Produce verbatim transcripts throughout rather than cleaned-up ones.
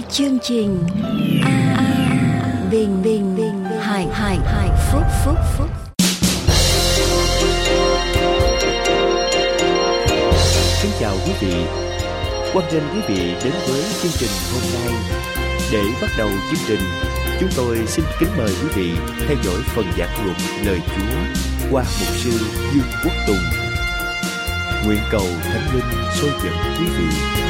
Chương trình A, A Bình Bình Bình Hải Hải Hải Phúc Phúc Phúc. Kính chào quý vị, hoan nghênh quý vị đến với chương trình hôm nay. Để bắt đầu chương trình, chúng tôi xin kính mời quý vị theo dõi phần giảng luận lời Chúa qua mục sư Dương Quốc Tùng. Nguyện cầu Thánh Linh xôi dẫn quý vị.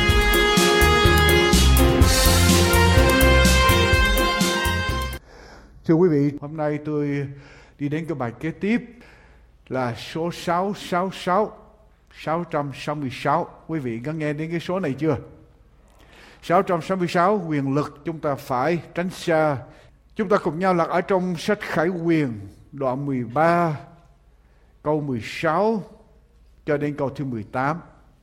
Thưa quý vị, hôm nay tôi đi đến cái bài kế tiếp là số sáu sáu sáu, sáu trăm sáu mươi sáu. Quý vị có nghe đến cái số này chưa? sáu trăm sáu mươi sáu, quyền lực chúng ta phải tránh xa. Chúng ta cùng nhau lật ở trong sách Khải Huyền đoạn mười ba câu mười sáu cho đến câu thứ mười tám.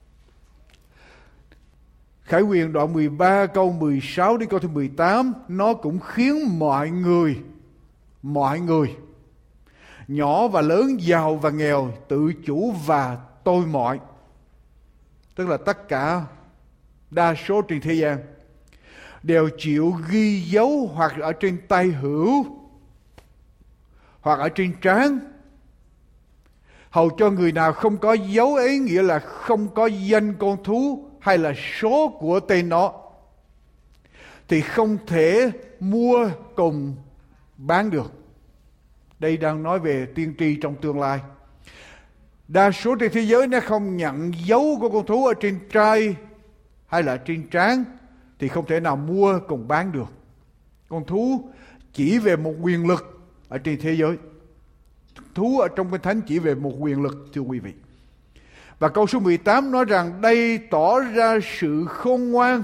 Khải Huyền đoạn mười ba câu mười sáu đến câu thứ mười tám, nó cũng khiến mọi người, mọi người, nhỏ và lớn, giàu và nghèo, tự chủ và tôi mọi, tức là tất cả, đa số trên thế gian, đều chịu ghi dấu hoặc ở trên tay hữu, hoặc ở trên trán, hầu cho người nào không có dấu ấy, nghĩa là không có danh con thú hay là số của tên nó, thì không thể mua cùng bán được. Đây đang nói về tiên tri trong tương lai. Đa số trên thế giới nó không nhận dấu của con thú ở trên trai hay là trên trán, thì không thể nào mua cùng bán được. Con thú chỉ về một quyền lực ở trên thế giới. Thú ở trong Kinh Thánh chỉ về một quyền lực, thưa quý vị. Và câu số mười tám nói rằng đây tỏ ra sự khôn ngoan.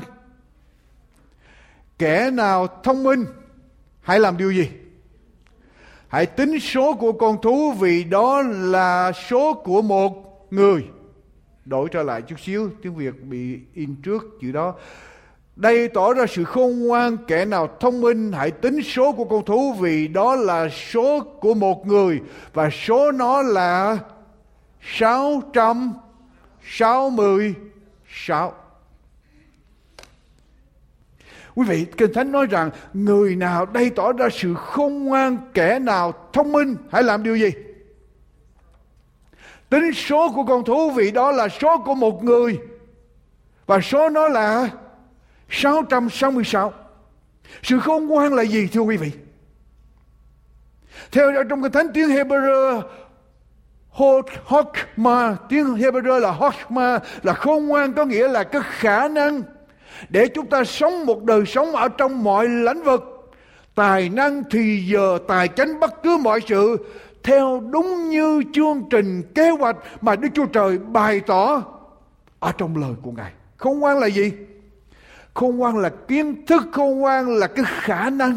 Kẻ nào thông minh hãy làm điều gì? Hãy tính số của con thú, vì đó là số của một người. Đổi trở lại chút xíu, tiếng Việt bị in trước chữ đó. Đây tỏ ra sự khôn ngoan, kẻ nào thông minh hãy tính số của con thú, vì đó là số của một người, và số nó là sáu trăm sáu mươi sáu. Quý vị, Kinh Thánh nói rằng người nào đây tỏ ra sự khôn ngoan, kẻ nào thông minh hãy làm điều gì? Tính số của con thú, vì đó là số của một người, và số nó là sáu trăm sáu mươi sáu. Sự khôn ngoan là gì, thưa quý vị? Theo trong Kinh Thánh, tiếng Hebrew Hokma, tiếng Hebrew là Hokma, là khôn ngoan, có nghĩa là cái khả năng để chúng ta sống một đời sống ở trong mọi lĩnh vực, tài năng, thì giờ, tài chánh, bất cứ mọi sự theo đúng như chương trình kế hoạch mà Đức Chúa Trời bày tỏ ở trong lời của Ngài. Khôn ngoan là gì? Khôn ngoan là kiến thức, khôn ngoan là cái khả năng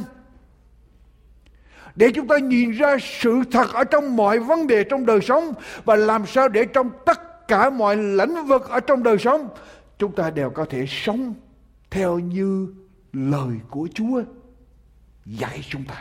để chúng ta nhìn ra sự thật ở trong mọi vấn đề trong đời sống, và làm sao để trong tất cả mọi lĩnh vực ở trong đời sống chúng ta đều có thể sống theo như lời của Chúa dạy chúng ta.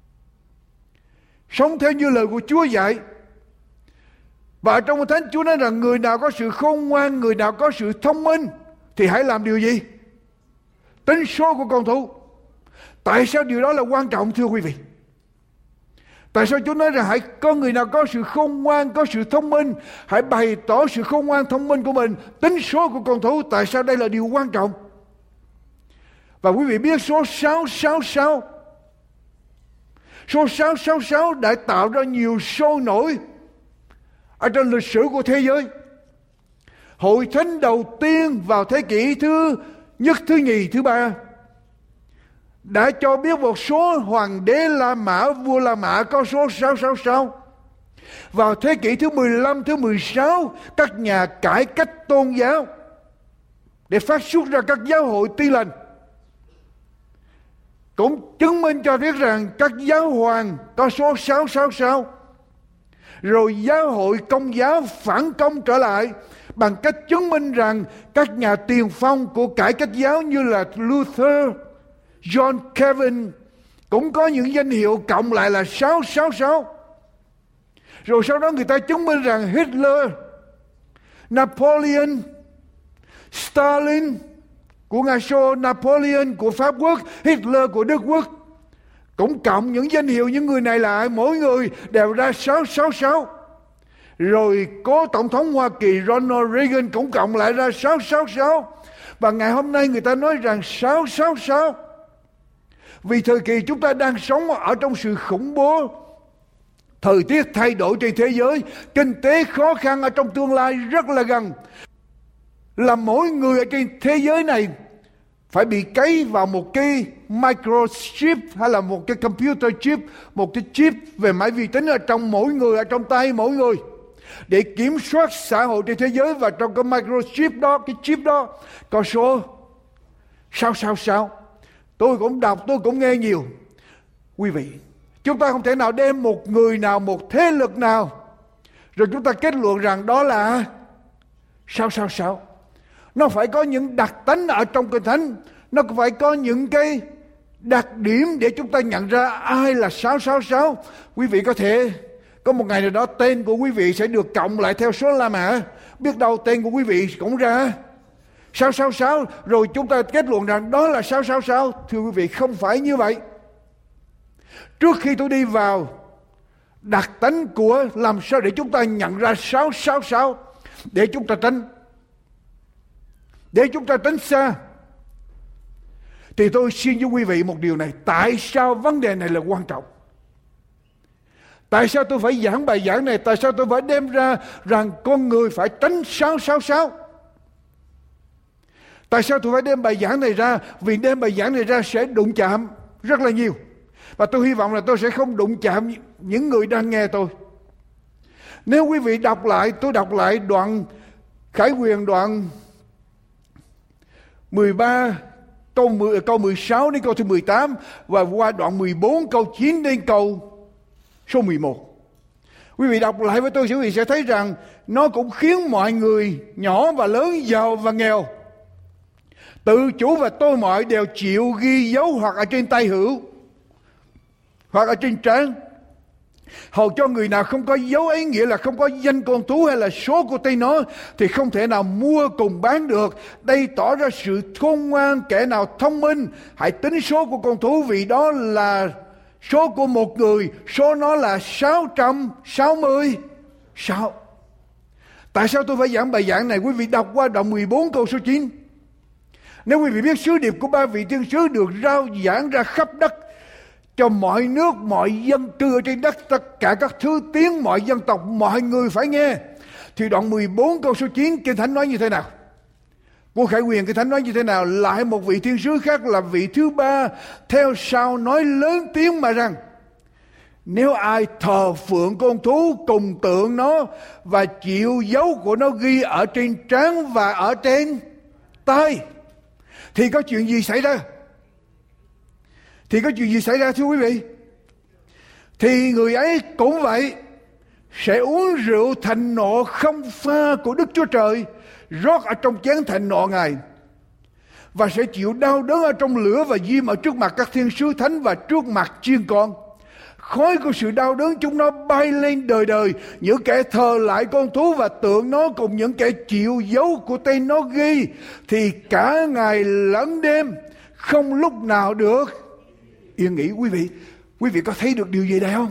Sống theo như lời của Chúa dạy. Và trong Thánh Chúa nói rằng người nào có sự khôn ngoan, người nào có sự thông minh thì hãy làm điều gì? Tính số của con thú. Tại sao điều đó là quan trọng, thưa quý vị? Tại sao Chúa nói rằng hãy có người nào có sự khôn ngoan, có sự thông minh, hãy bày tỏ sự khôn ngoan thông minh của mình, tính số của con thú? Tại sao đây là điều quan trọng? Và quý vị biết số sáu sáu sáu, số sáu sáu sáu đã tạo ra nhiều sôi nổi ở trong lịch sử của thế giới. Hội thánh đầu tiên vào thế kỷ thứ nhất, thứ nhì, thứ ba đã cho biết một số hoàng đế La Mã, vua La Mã có số sáu sáu sáu. Vào thế kỷ thứ mười lăm, thứ mười sáu, các nhà cải cách tôn giáo để phát xuất ra các giáo hội Tin Lành cũng chứng minh cho biết rằng các giáo hoàng có số sáu sáu sáu. Rồi giáo hội Công giáo phản công trở lại bằng cách chứng minh rằng các nhà tiền phong của cải cách giáo như là Luther, John Calvin cũng có những danh hiệu cộng lại là sáu sáu sáu. Rồi sau đó người ta chứng minh rằng Hitler, Napoleon, Stalin, của Nga Xô, Napoleon của Pháp Quốc, Hitler của Đức Quốc. Cũng cộng những danh hiệu những người này lại, mỗi người đều ra sáu sáu sáu. Rồi cố Tổng thống Hoa Kỳ Ronald Reagan cũng cộng lại ra sáu sáu sáu. Và ngày hôm nay người ta nói rằng sáu sáu sáu. Vì thời kỳ chúng ta đang sống ở trong sự khủng bố, thời tiết thay đổi trên thế giới, kinh tế khó khăn ở trong tương lai rất là gần. Là mỗi người ở trên thế giới này phải bị cấy vào một cái microchip hay là một cái computer chip, một cái chip về máy vi tính ở trong mỗi người, ở trong tay mỗi người, để kiểm soát xã hội trên thế giới. Và trong cái microchip đó, cái chip đó có số sáu sáu sáu. Tôi cũng đọc, tôi cũng nghe nhiều. Quý vị, chúng ta không thể nào đem một người nào, một thế lực nào rồi chúng ta kết luận rằng đó là sáu sáu sáu. Nó phải có những đặc tánh ở trong Kinh Thánh, nó phải có những cái đặc điểm để chúng ta nhận ra ai là sáu sáu sáu. Quý vị có thể có một ngày nào đó tên của quý vị sẽ được cộng lại theo số La Mã, biết đâu tên của quý vị cũng ra sáu sáu sáu, rồi chúng ta kết luận rằng đó là sáu sáu sáu. Thưa quý vị, không phải như vậy. Trước khi tôi đi vào đặc tánh của làm sao để chúng ta nhận ra sáu sáu sáu, để chúng ta tránh để chúng ta tránh xa, thì tôi xin với quý vị một điều này. Tại sao vấn đề này là quan trọng? Tại sao tôi phải giảng bài giảng này? Tại sao tôi phải đem ra rằng con người phải tránh sáu sáu sáu? Tại sao tôi phải đem bài giảng này ra? Vì đem bài giảng này ra sẽ đụng chạm rất là nhiều. Và tôi hy vọng là tôi sẽ không đụng chạm những người đang nghe tôi. Nếu quý vị đọc lại, tôi đọc lại đoạn Khải Huyền đoạn mười ba câu, mười, câu mười sáu đến câu thứ mười tám, và qua đoạn mười bốn câu chín đến câu số mười một. Quý vị đọc lại với tôi, quý vị sẽ thấy rằng nó cũng khiến mọi người nhỏ và lớn, giàu và nghèo, tự chủ và tôi mọi đều chịu ghi dấu hoặc ở trên tay hữu hoặc ở trên trán, hầu cho người nào không có dấu ấy, nghĩa là không có danh con thú hay là số của tay nó, thì không thể nào mua cùng bán được. Đây tỏ ra sự khôn ngoan. Kẻ nào thông minh hãy tính số của con thú, vì đó là số của một người, số nó là sáu trăm sáu mươi sáu. Tại sao tôi phải giảng bài giảng này? Quý vị đọc qua đoạn mười bốn câu số chín. Nếu quý vị biết sứ điệp của ba vị thiên sứ được rao giảng ra khắp đất, cho mọi nước, mọi dân cư ở trên đất, tất cả các thứ tiếng, mọi dân tộc, mọi người phải nghe, thì đoạn mười bốn câu số chín Kinh Thánh nói như thế nào? Của Khải Huyền Kinh Thánh nói như thế nào? Lại một vị thiên sứ khác là vị thứ ba theo sau nói lớn tiếng mà rằng: nếu ai thờ phượng con thú cùng tượng nó và chịu dấu của nó ghi ở trên trán và ở trên tay, thì có chuyện gì xảy ra? Thì có chuyện gì xảy ra thưa quý vị? Thì người ấy cũng vậy, sẽ uống rượu thịnh nộ không pha của Đức Chúa Trời, rót ở trong chén thịnh nộ Ngài, và sẽ chịu đau đớn ở trong lửa và diêm ở trước mặt các thiên sứ thánh và trước mặt chiên con. Khói của sự đau đớn chúng nó bay lên đời đời. Những kẻ thờ lại con thú và tượng nó cùng những kẻ chịu dấu của tên nó ghi, thì cả ngày lẫn đêm không lúc nào được yên nghỉ. Quý vị, quý vị có thấy được điều gì đây không?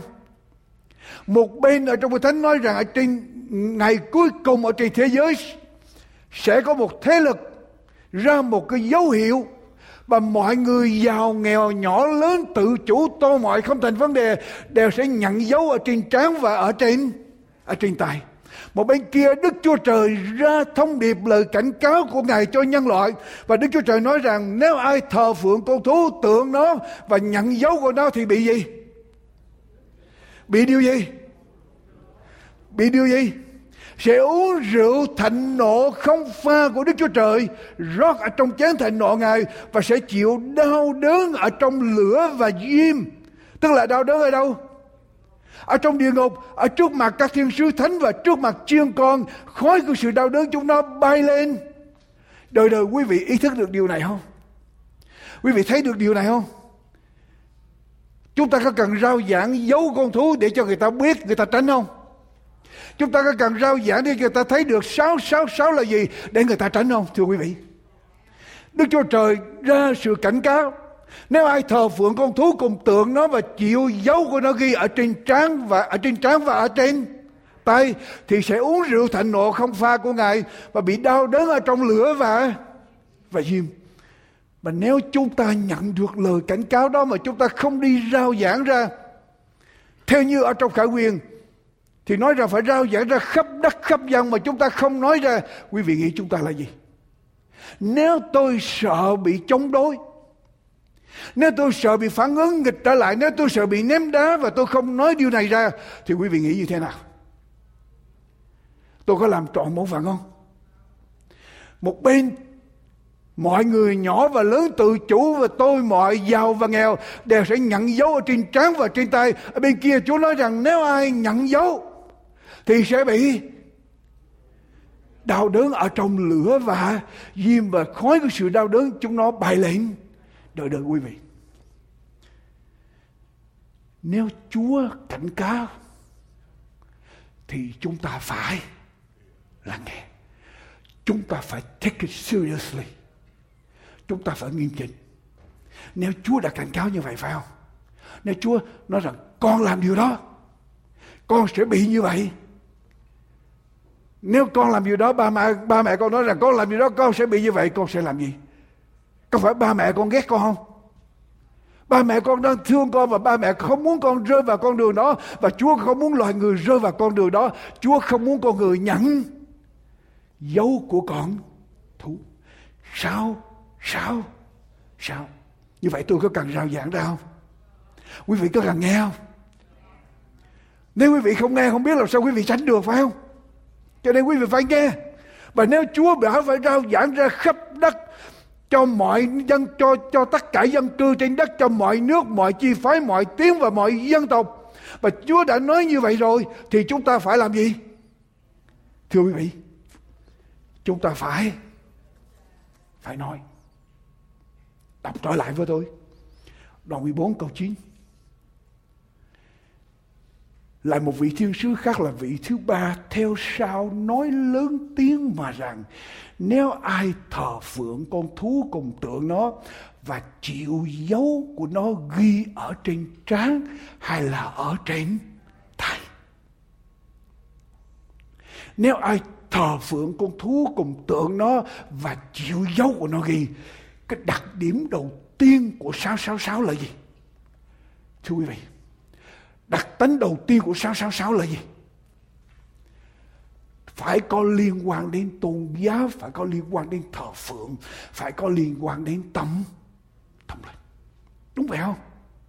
Một bên ở trong Kinh Thánh nói rằng ở trên ngày cuối cùng ở trên thế giới sẽ có một thế lực ra một cái dấu hiệu, và mọi người giàu nghèo, nhỏ lớn, tự chủ, tôi mọi không thành vấn đề, đều sẽ nhận dấu ở trên trán và ở trên ở trên tay. Một bên kia Đức Chúa Trời ra thông điệp lời cảnh cáo của Ngài cho nhân loại, và Đức Chúa Trời nói rằng nếu ai thờ phượng con thú, tượng nó và nhận dấu của nó thì bị gì? Bị điều gì? Bị điều gì? Sẽ uống rượu thịnh nộ không pha của Đức Chúa Trời, rót ở trong chén thịnh nộ Ngài, và sẽ chịu đau đớn ở trong lửa và diêm. Tức là đau đớn ở đâu? Ở trong địa ngục, ở trước mặt các thiên sứ thánh và trước mặt chiên con. Khói của sự đau đớn chúng nó bay lên đời đời. Quý vị ý thức được điều này không? Quý vị thấy được điều này không? Chúng ta có cần rao giảng dấu con thú để cho người ta biết, người ta tránh không? Chúng ta có cần rao giảng để người ta thấy được sáu sáu sáu là gì để người ta tránh không? Thưa quý vị, Đức Chúa Trời ra sự cảnh cáo. Nếu ai thờ phượng con thú cùng tượng nó và chịu dấu của nó ghi ở trên trán và ở trên trán và ở trên tay, thì sẽ uống rượu thạnh nộ không pha của Ngài và bị đau đớn ở trong lửa và và diêm. Mà nếu chúng ta nhận được lời cảnh cáo đó mà chúng ta không đi rao giảng ra, theo như ở trong Khải Huyền thì nói rằng phải rao giảng ra khắp đất khắp dân, mà chúng ta không nói ra, quý vị nghĩ chúng ta là gì? Nếu tôi sợ bị chống đối, nếu tôi sợ bị phản ứng nghịch trở lại, nếu tôi sợ bị ném đá và tôi không nói điều này ra, thì quý vị nghĩ như thế nào? Tôi có làm trọn bổn phận không? Một bên mọi người nhỏ và lớn tự chủ, và tôi mọi giàu và nghèo đều sẽ nhận dấu ở trên trán và trên tay. Ở bên kia Chúa nói rằng nếu ai nhận dấu thì sẽ bị đau đớn ở trong lửa và diêm, và khói của sự đau đớn chúng nó bay lên đời đời. Quý vị, nếu Chúa cảnh cáo thì chúng ta phải lắng nghe, chúng ta phải take it seriously, chúng ta phải nghiêm chỉnh. Nếu Chúa đã cảnh cáo như vậy, phải không? Nếu Chúa nói rằng con làm điều đó, con sẽ bị như vậy. Nếu con làm điều đó, ba mẹ, ba mẹ con nói rằng con làm điều đó, con sẽ bị như vậy, con sẽ làm gì? Có phải ba mẹ con ghét con không? Ba mẹ con đang thương con và ba mẹ không muốn con rơi vào con đường đó, và Chúa không muốn loài người rơi vào con đường đó. Chúa không muốn con người nhận dấu của con thú. Sao? Sao? Sao? Như vậy tôi có cần rao giảng ra không? Quý vị có cần nghe không? Nếu quý vị không nghe, không biết làm sao quý vị tránh được, phải không? Cho nên quý vị phải nghe. Và nếu Chúa bảo phải rao giảng ra khắp đất, cho mọi dân, cho cho tất cả dân cư trên đất, cho mọi nước, mọi chi phái, mọi tiếng và mọi dân tộc, và Chúa đã nói như vậy rồi, thì chúng ta phải làm gì? Thưa quý vị, chúng ta phải phải nói. Đọc trở lại với tôi đoạn mười bốn câu chín. Lại một vị thiên sứ khác là vị thứ ba theo sau nói lớn tiếng mà rằng, nếu ai thờ phượng con thú cùng tượng nó và chịu dấu của nó ghi ở trên trán hay là ở trên tay, nếu ai thờ phượng con thú cùng tượng nó và chịu dấu của nó ghi, cái đặc điểm đầu tiên của sáu sáu sáu là gì? Thưa quý vị, đặc tính đầu tiên của sáu sáu sáu là gì? Phải có liên quan đến tôn giáo, phải có liên quan đến thờ phượng, phải có liên quan đến tâm tâm linh. Đúng vậy không?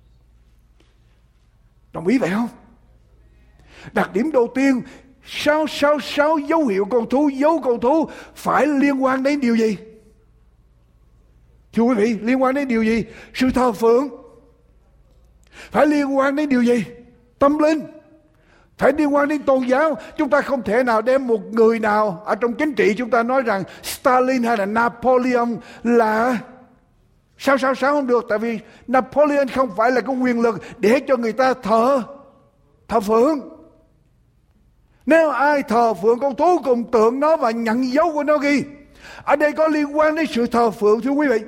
Đồng ý vậy không? Đặc điểm đầu tiên, sáu sáu sáu dấu hiệu con thú, dấu con thú phải liên quan đến điều gì? Thưa quý vị, liên quan đến điều gì? Sự thờ phượng. Phải liên quan đến điều gì? Tâm linh. Phải liên quan đến tôn giáo. Chúng ta không thể nào đem một người nào ở trong chính trị chúng ta nói rằng Stalin hay là Napoleon là sáu sáu sáu không được. Tại vì Napoleon không phải là cái quyền lực để cho người ta thờ thờ phượng. Nếu ai thờ phượng con thú cùng tượng nó và nhận dấu của nó ghi, ở đây có liên quan đến sự thờ phượng. Thưa quý vị,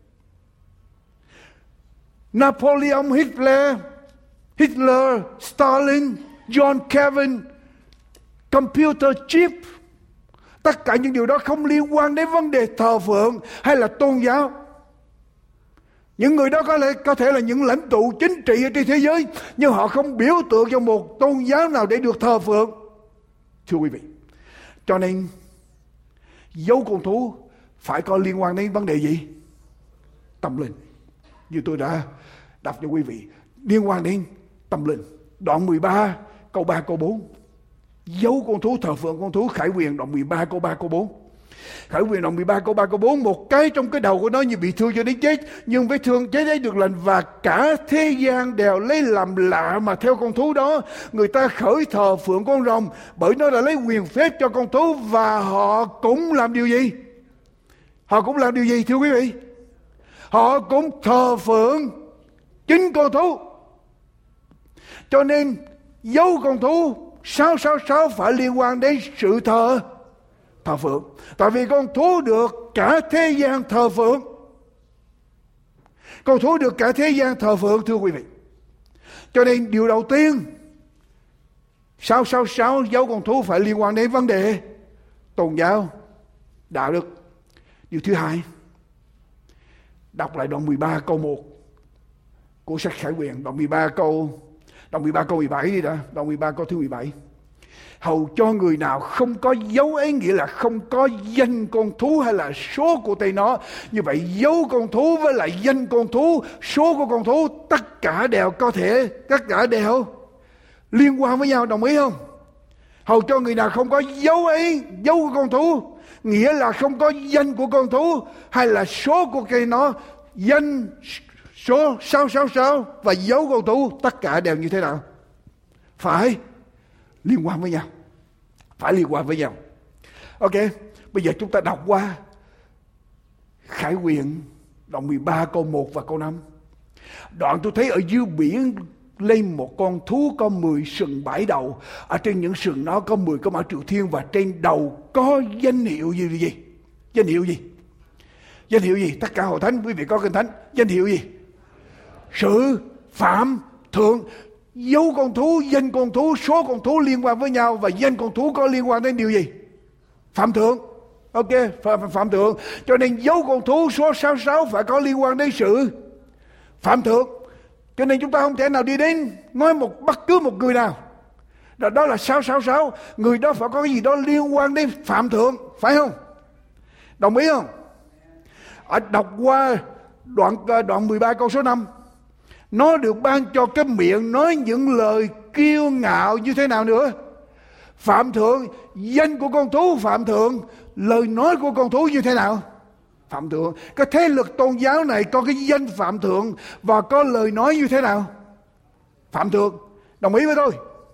Napoleon, Hitler, Hitler, Stalin, John Calvin, computer chip, tất cả những điều đó không liên quan đến vấn đề thờ phượng hay là tôn giáo. Những người đó có thể, có thể là những lãnh tụ chính trị ở trên thế giới, nhưng họ không biểu tượng cho một tôn giáo nào để được thờ phượng. Thưa quý vị, cho nên dấu con thú phải có liên quan đến vấn đề gì? Tâm linh. Như tôi đã đọc cho quý vị, liên quan đến tâm linh. Đoạn mười ba câu ba câu bốn. Dấu con thú, thờ phượng con thú. Khải Huyền đoạn mười ba câu ba câu bốn. Khải Huyền đoạn mười ba câu ba câu bốn. Một cái trong cái đầu của nó như bị thương cho đến chết, nhưng vết thương chết ấy được lành, và cả thế gian đều lấy làm lạ mà theo con thú đó. Người ta khởi thờ phượng con rồng, bởi nó đã lấy quyền phép cho con thú, và họ cũng làm điều gì? Họ cũng làm điều gì thưa quý vị? Họ cũng thờ phượng chính con thú. Cho nên dấu con thú sáu sáu sáu phải liên quan đến sự thờ thờ phượng. Tại vì con thú được cả thế gian thờ phượng. Con thú được cả thế gian thờ phượng, thưa quý vị. Cho nên điều đầu tiên, sáu sáu sáu dấu con thú phải liên quan đến vấn đề tôn giáo, đạo đức. Điều thứ hai, đọc lại đoạn mười ba câu một của sách Khải Huyền, đoạn mười ba câu đoạn mười ba câu mười bảy đi đã, đoạn mười ba câu thứ mười bảy. Hầu cho người nào không có dấu ấy, nghĩa là không có danh con thú hay là số của tay nó. Như vậy dấu con thú với lại danh con thú, số của con thú, tất cả đều có thể, tất cả đều liên quan với nhau, đồng ý không? Hầu cho người nào không có dấu ấy, dấu của con thú, nghĩa là không có danh của con thú hay là số của cây nó, danh số sáu sáu sáu và dấu con thú, tất cả đều như thế nào? Phải liên quan với nhau. Phải liên quan với nhau. Ok, bây giờ chúng ta đọc qua Khải Huyền đoạn mười ba câu một và câu năm. Đoạn tôi thấy ở dưới biển lên một con thú có mười sừng bảy đầu. Ở trên những sừng nó có mười cái mã triệu thiên, và trên đầu có danh hiệu gì gì? Danh hiệu gì? Danh hiệu gì? Tất cả hội thánh, quý vị có kinh thánh. Danh hiệu gì? Sự phạm thượng. Dấu con thú, danh con thú, số con thú liên quan với nhau, và danh con thú có liên quan đến điều gì? Phạm thượng. Ok, phạm, phạm thượng. Cho nên dấu con thú số sáu sáu phải có liên quan đến sự phạm thượng. Cho nên chúng ta không thể nào đi đến nói một bất cứ một người nào đó, đó là sáu sáu sáu, người đó phải có cái gì đó liên quan đến phạm thượng, phải không? Đồng ý không? Ở đọc qua đoạn đoạn mười ba câu số năm. Nó được ban cho cái miệng nói những lời kiêu ngạo như thế nào nữa? Phạm thượng. Danh của con thú phạm thượng, lời nói của con thú như thế nào? Phạm thượng. Cái thế lực tôn giáo này có cái danh phạm thượng và có lời nói như thế nào? Phạm thượng. Đồng ý với tôi?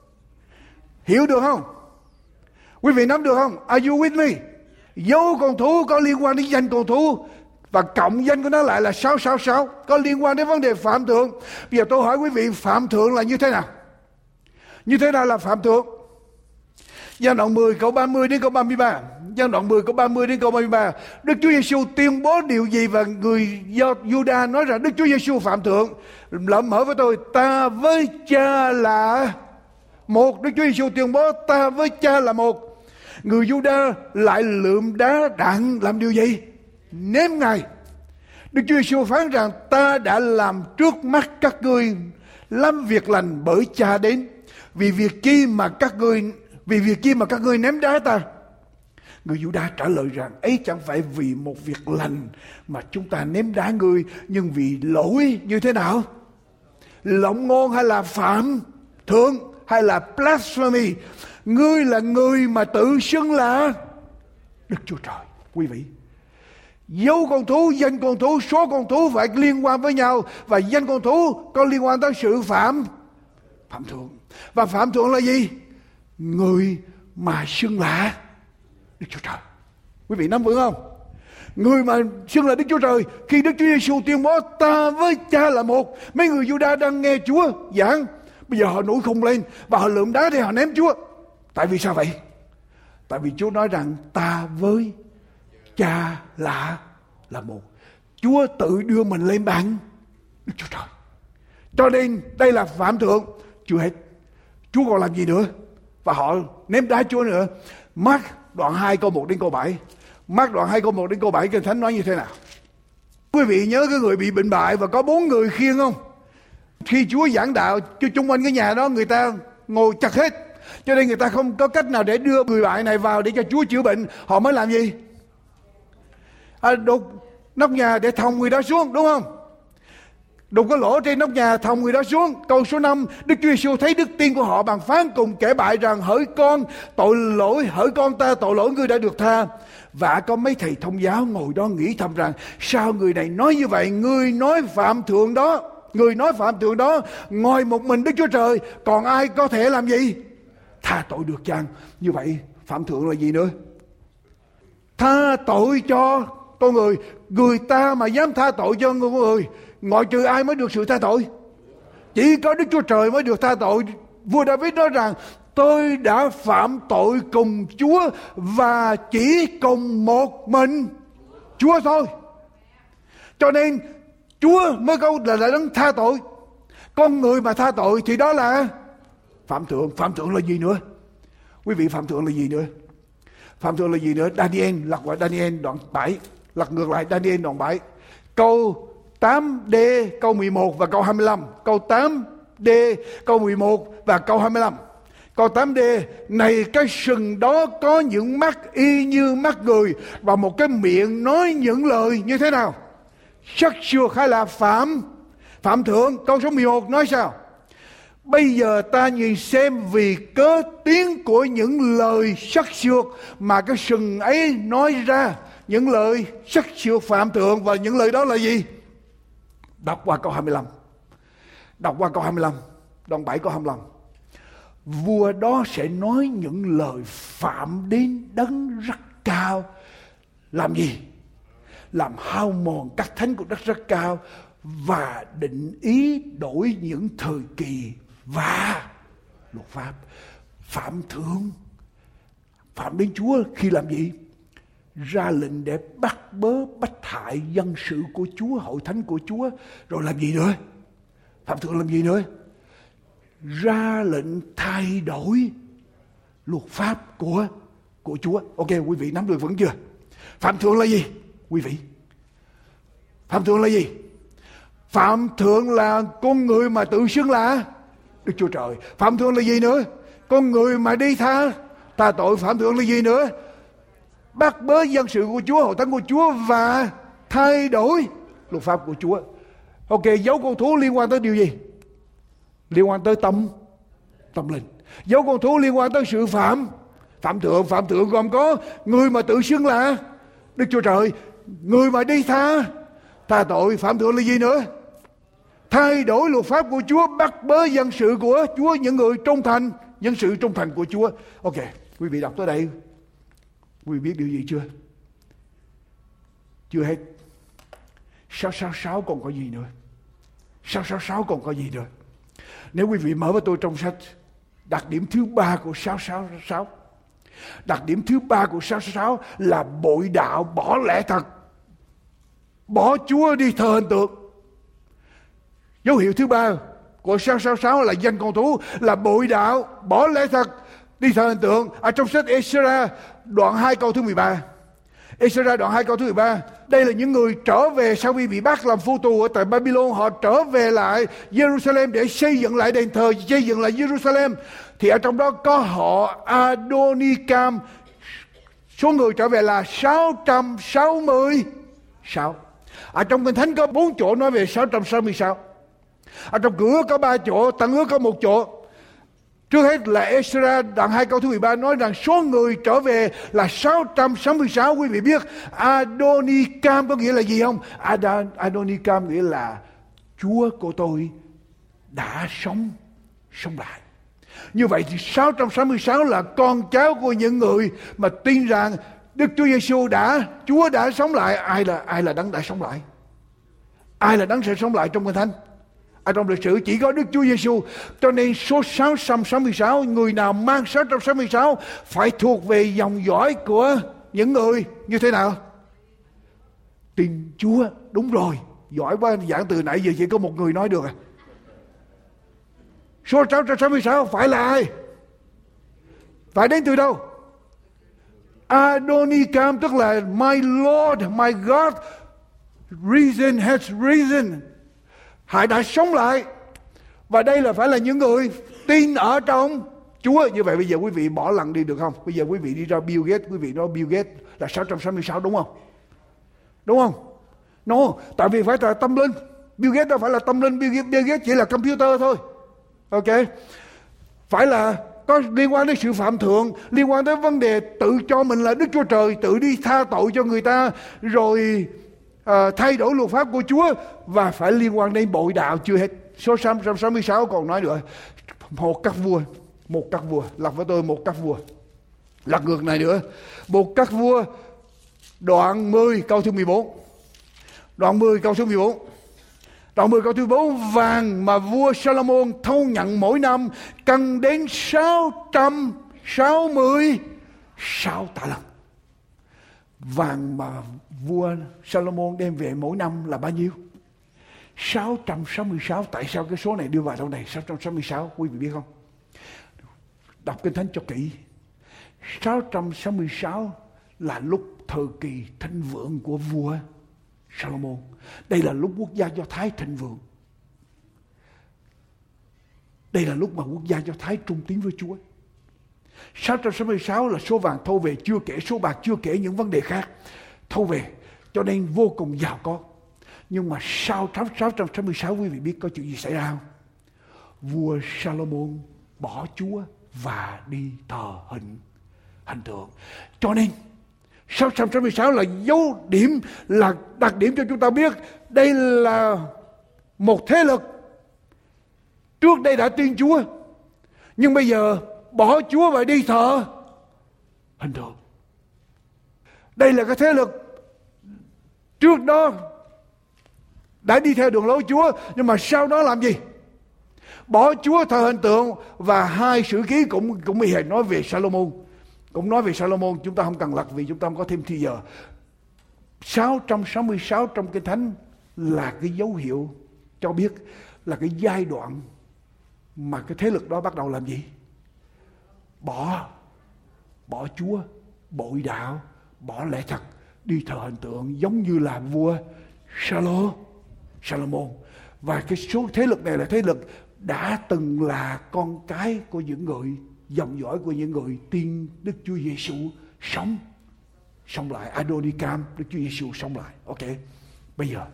Hiểu được không? Quý vị nắm được không? Are you with me? Dấu con thú có liên quan đến danh con thú, và cộng danh của nó lại là sáu sáu sáu, có liên quan đến vấn đề phạm thượng. Bây giờ tôi hỏi quý vị, phạm thượng là như thế nào? Như thế nào là phạm thượng? Giăng đoạn mười câu ba mươi đến câu ba mươi ba. Giăng đoạn mười câu ba mươi đến câu ba mươi ba. Đức Chúa Giêsu tuyên bố điều gì và người do Juda nói rằng Đức Chúa Giêsu phạm thượng? Lợm mở với tôi, ta với Cha là một. Đức Chúa Giêsu tuyên bố ta với Cha là một. Người Juda lại lượm đá đặng làm điều gì? Ném Ngài. Đức Chúa Giêsu phán rằng ta đã làm trước mắt các ngươi làm việc lành bởi Cha đến. Vì việc chi mà các ngươi vì việc chi mà các ngươi ném đá ta? Người Giu-đa trả lời rằng ấy chẳng phải vì một việc lành mà chúng ta ném đá ngươi, nhưng vì lỗi như thế nào? Lộng ngôn hay là phạm thượng hay là blasphemy? Ngươi là người mà tự xưng là Đức Chúa Trời. Quý vị, dấu con thú, danh con thú, số con thú phải liên quan với nhau, và danh con thú có liên quan tới sự phạm phạm thượng. Và phạm thượng là gì? Người mà xưng là Đức Chúa Trời. Quý vị nắm vững không? Người mà xưng là Đức Chúa Trời. Khi Đức Chúa Giêsu tuyên bố ta với Cha là một, mấy người Giu-đa đang nghe Chúa giảng, bây giờ họ nổi khùng lên và họ lượm đá để họ ném Chúa. Tại vì sao vậy? Tại vì Chúa nói rằng ta với Cha là là một. Chúa tự đưa mình lên bằng Đức Chúa Trời. Cho nên đây là phạm thượng. Chưa hết, Chúa còn làm gì nữa? Và họ ném đá Chúa nữa. Mark đoạn hai câu một đến câu bảy. Mark đoạn hai câu một đến câu bảy, Kinh Thánh nói như thế nào? Quý vị nhớ cái người bị bệnh bại và có bốn người khiêng không? Khi Chúa giảng đạo, cho chung quanh cái nhà đó người ta ngồi chặt hết, cho nên người ta không có cách nào để đưa người bại này vào để cho Chúa chữa bệnh. Họ mới làm gì? À, đục nóc nhà để thòng người đó xuống, đúng không? Đục cái lỗ trên nóc nhà, thòng người đó xuống. Câu số năm, Đức Chúa Giêsu thấy đức tin của họ, bằng phán cùng kẻ bại rằng hỡi con tội lỗi, hỡi con ta tội lỗi ngươi đã được tha. Và có mấy thầy thông giáo ngồi đó nghĩ thầm rằng sao người này nói như vậy? Người nói phạm thượng đó, người nói phạm thượng đó, ngồi một mình Đức Chúa Trời, còn ai có thể làm gì? Tha tội được chăng? Như vậy phạm thượng là gì nữa? Tha tội cho con người. Người ta mà dám tha tội cho con người, ngoại trừ ai mới được sự tha tội? Chỉ có Đức Chúa Trời mới được tha tội. Vua David nói rằng tôi đã phạm tội cùng Chúa và chỉ cùng một mình Chúa thôi. Cho nên Chúa mới câu là, là đấng tha tội. Con người mà tha tội thì đó là phạm thượng. Phạm thượng là gì nữa? Quý vị, phạm thượng là gì nữa? Phạm thượng là gì nữa? Daniel, lật qua Daniel đoạn bảy, lật ngược lại Daniel đoạn bảy, câu tám D, câu mười một và câu hai mươi lăm. Câu tám D, câu mười một và câu hai mươi lăm. Câu tám D, này cái sừng đó có những mắt y như mắt người và một cái miệng nói những lời như thế nào? Sắc sược hay là phạm phạm thượng? Câu số mười một nói sao? Bây giờ ta nhìn xem vì cớ tiếng của những lời sắc sược mà cái sừng ấy nói ra, những lời sắc sược phạm thượng, và những lời đó là gì? Đọc qua câu hai mươi lăm. Đọc qua câu hai mươi lăm, đoạn bảy câu hai mươi lăm. Vua đó sẽ nói những lời phạm đến đấng rất cao. Làm gì? Làm hao mòn các thánh của đất rất cao và định ý đổi những thời kỳ và luật pháp. Phạm thượng, phạm đến Chúa khi làm gì? Ra lệnh để bắt bớ bách hại dân sự của Chúa, hội thánh của Chúa. Rồi làm gì nữa? Phạm thượng làm gì nữa? Ra lệnh thay đổi luật pháp của của Chúa. Ok, quý vị nắm được vẫn chưa? Phạm thượng là gì? Quý vị, phạm thượng là gì? Phạm thượng là con người mà tự xưng là Đức Chúa Trời. Phạm thượng là gì nữa? Con người mà đi tha tha tội. Phạm thượng là gì nữa? Bắt bớ dân sự của Chúa, hội thánh của Chúa và thay đổi luật pháp của Chúa. Ok, dấu con thú liên quan tới điều gì? Liên quan tới tâm tâm linh. Dấu con thú liên quan tới sự phạm phạm thượng. Phạm thượng gồm có người mà tự xưng là Đức Chúa Trời, người mà đi tha tha tội. Phạm thượng là gì nữa? Thay đổi luật pháp của Chúa, bắt bớ dân sự của Chúa, những người trung thành, dân sự trung thành của Chúa. Ok, quý vị đọc tới đây, quý vị biết điều gì chưa? Chưa hết. sáu sáu sáu còn có gì nữa? sáu sáu sáu còn có gì nữa? Nếu quý vị mở với tôi trong sách, đặc điểm thứ ba của sáu sáu sáu, đặc điểm thứ ba của sáu sáu sáu là bội đạo, bỏ lẽ thật, bỏ Chúa đi thờ hình tượng. Dấu hiệu thứ ba của sáu sáu sáu là danh con thú, là bội đạo, bỏ lẽ thật, đi thờ hình tượng. Ở trong sách Ê-xê-ra đoạn hai câu thứ mười ba, Ê-xê-ra đoạn hai câu thứ mười ba, đây là những người trở về sau khi bị bắt làm phu tù ở tại Babylon. Họ trở về lại Jerusalem để xây dựng lại đền thờ, xây dựng lại Jerusalem. Thì ở trong đó có họ Adonicam. Số người trở về là sáu trăm sáu mươi sáu. Ở trong Kinh Thánh có bốn chỗ nói về sáu trăm sáu mươi sáu. Ở trong Cựu Ước có ba chỗ, Tân Ước có một chỗ. Trước hết là Ê-xê-ra đoạn hai câu thứ mười ba nói rằng số người trở về là sáu trăm sáu mươi sáu. Quý vị biết Adonicam có nghĩa là gì không? Ad- Adonicam nghĩa là Chúa của tôi đã sống sống lại. Như vậy thì sáu trăm sáu mươi sáu là con cháu của những người mà tin rằng Đức Chúa Giêsu đã, Chúa đã sống lại. Ai là ai là đấng đã sống lại? Ai là đấng sẽ sống lại trong Kinh Thánh? Ở trong lịch sử chỉ có Đức Chúa Giêsu. Cho nên số sáu trăm sáu mươi sáu, người nào mang sáu trăm sáu mươi sáu phải thuộc về dòng dõi của những người như thế nào? Tin Chúa. Đúng rồi, giỏi quá, giảng từ nãy giờ chỉ có một người nói được à. Số sáu trăm sáu mươi sáu phải là ai? Phải đến từ đâu? Adonicam, tức là my Lord, my God, risen has risen. Hải đã sống lại. Và đây là phải là những người tin ở trong Chúa. Như vậy bây giờ quý vị bỏ lần đi được không? Bây giờ quý vị đi ra Bill Gates, quý vị nói Bill Gates là sáu trăm sáu mươi sáu đúng không? Đúng không? No, tại vì phải là tâm linh. Bill Gates đâu phải là tâm linh, Bill Gates, Bill Gates chỉ là computer thôi. Ok? Phải là có liên quan đến sự phạm thượng, liên quan đến vấn đề tự cho mình là Đức Chúa Trời, tự đi tha tội cho người ta, rồi À, thay đổi luật pháp của Chúa, và phải liên quan đến bội đạo. Chưa hết. Số sáu trăm sáu mươi sáu còn nói nữa, một các vua, một các vua, lật với tôi một các vua, lật ngược này nữa, một các vua đoạn mười câu thứ mười bốn, đoạn mười câu thứ mười bốn, đoạn mười câu thứ bốn, vàng mà vua Salomon thâu nhận mỗi năm cần đến sáu trăm sáu mươi sáu tạ lần. Vàng mà vua Salomon đem về mỗi năm là bao nhiêu? sáu trăm sáu mươi sáu, tại sao cái số này đưa vào đâu này? sáu trăm sáu mươi sáu, quý vị biết không? Đọc Kinh Thánh cho kỹ. sáu trăm sáu mươi sáu là lúc thời kỳ thịnh vượng của vua Salomon. Đây là lúc quốc gia Do Thái thịnh vượng. Đây là lúc mà quốc gia Do Thái trung tín với Chúa. sáu trăm sáu mươi sáu là số vàng thâu về, chưa kể số bạc, chưa kể những vấn đề khác thâu về, cho nên vô cùng giàu có. Nhưng mà sau sáu trăm sáu mươi sáu, quý vị biết có chuyện gì xảy ra không? Vua Salomon bỏ Chúa và đi thờ hình hình tượng. Cho nên sáu trăm sáu mươi sáu là dấu điểm, là đặc điểm cho chúng ta biết đây là một thế lực trước đây đã tin Chúa, nhưng bây giờ bỏ Chúa và đi thờ hình tượng. Đây là cái thế lực trước đó đã đi theo đường lối Chúa, nhưng mà sau đó làm gì? Bỏ Chúa, thờ hình tượng. Và hai sử ký cũng cũng bị nói về Salomon, cũng nói về Salomon. Chúng ta không cần lật vì chúng ta không có thêm thời giờ. sáu trăm sáu mươi sáu trong Kinh Thánh là cái dấu hiệu cho biết là cái giai đoạn mà cái thế lực đó bắt đầu làm gì? Bỏ Bỏ Chúa, bội đạo, bỏ lẽ thật, đi thờ hình tượng, giống như là vua Salomon. Salomon. Và cái số thế lực này là thế lực đã từng là con cái của những người, dòng dõi của những người tin Đức Chúa Giêsu sống sống lại. Adonicam, Đức Chúa Giêsu sống lại. Ok, bây giờ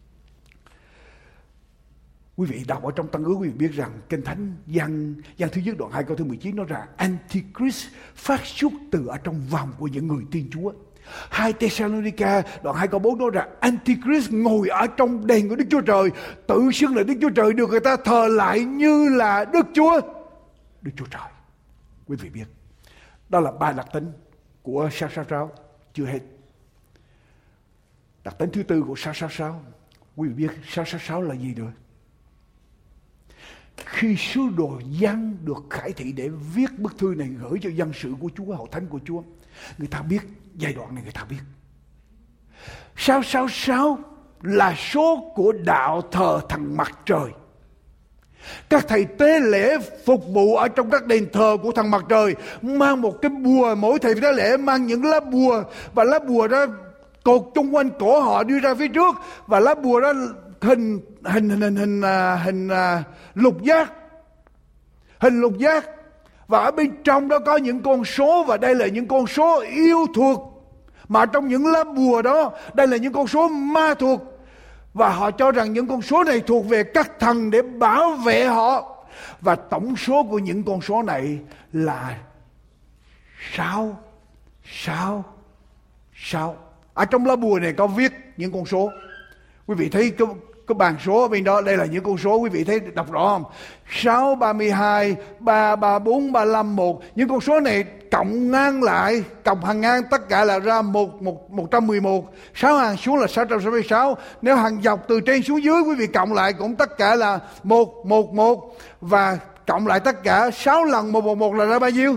quý vị đọc ở trong Tân Ước, quý vị biết rằng Kinh Thánh gian gian thứ nhất đoạn hai câu thứ mười chín nói rằng Antichrist phát xuất từ ở trong vòng của những người tin Chúa. Hai Thessalonica đoạn hai câu bốn nói rằng Antichrist ngồi ở trong đền của Đức Chúa Trời, tự xưng là Đức Chúa Trời, được người ta thờ lại như là Đức Chúa Đức Chúa Trời. Quý vị biết đó là ba đặc tính của sáu sáu sáu. Chưa hết, đặc tính thứ tư của sáu sáu sáu, quý vị biết sáu sáu sáu là gì nữa? Khi sứ đồ Giăng được khải thị để viết bức thư này gửi cho dân sự của Chúa, hậu thánh của Chúa, người ta biết giai đoạn này, người ta biết sáu sáu sáu là số của đạo thờ thần mặt trời. Các thầy tế lễ phục vụ ở trong các đền thờ của thần mặt trời mang một cái bùa, mỗi thầy tế lễ mang những lá bùa, và lá bùa đó cột chung quanh cổ họ đưa ra phía trước, và lá bùa đó hình hình hình hình hình, hình, hình uh, lục giác, hình lục giác, và ở bên trong đó có những con số, và đây là những con số yêu thuộc, mà trong những lá bùa đó đây là những con số ma thuộc, và họ cho rằng những con số này thuộc về các thần để bảo vệ họ, và tổng số của những con số này là sáu sáu sáu. Ở trong lá bùa này có viết những con số. Quý vị thấy cái, cái bàn số ở bên đó, đây là những con số, quý vị thấy đọc rõ không? sáu, ba mươi hai, ba, ba, bốn, ba mươi lăm, một. Những con số này cộng ngang lại, cộng hàng ngang tất cả là ra một, một, một trăm mười một. sáu hàng xuống là sáu trăm sáu mươi sáu. Nếu hàng dọc từ trên xuống dưới, quý vị cộng lại cũng tất cả là một, một, một. Và cộng lại tất cả sáu lần một, một, một là ra bao nhiêu?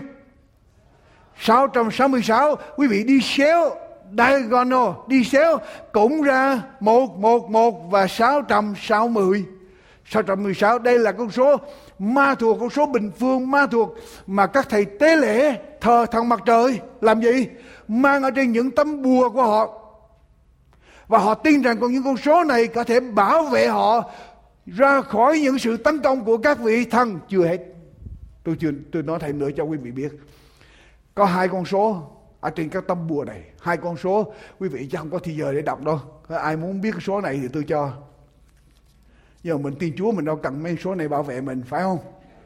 sáu trăm sáu mươi sáu. Quý vị đi xéo diagonal, đi xéo cũng ra một, một, một và sáu trăm sáu mươi. sáu trăm mười sáu, đây là con số ma thuộc, con số bình phương ma thuộc mà các thầy tế lễ thờ thần mặt trời làm gì? Mang ở trên những tấm bùa của họ. Và họ tin rằng còn những con số này có thể bảo vệ họ ra khỏi những sự tấn công của các vị thần. Chưa hết, tôi chưa tôi nói thêm nữa cho quý vị biết. Có hai con số ở trên các tấm bùa này, hai con số, quý vị chắc không có thời giờ để đọc đâu. Ai muốn biết cái số này thì tôi cho. Nhưng mà mình tin Chúa, mình đâu cần mấy số này bảo vệ mình, phải không?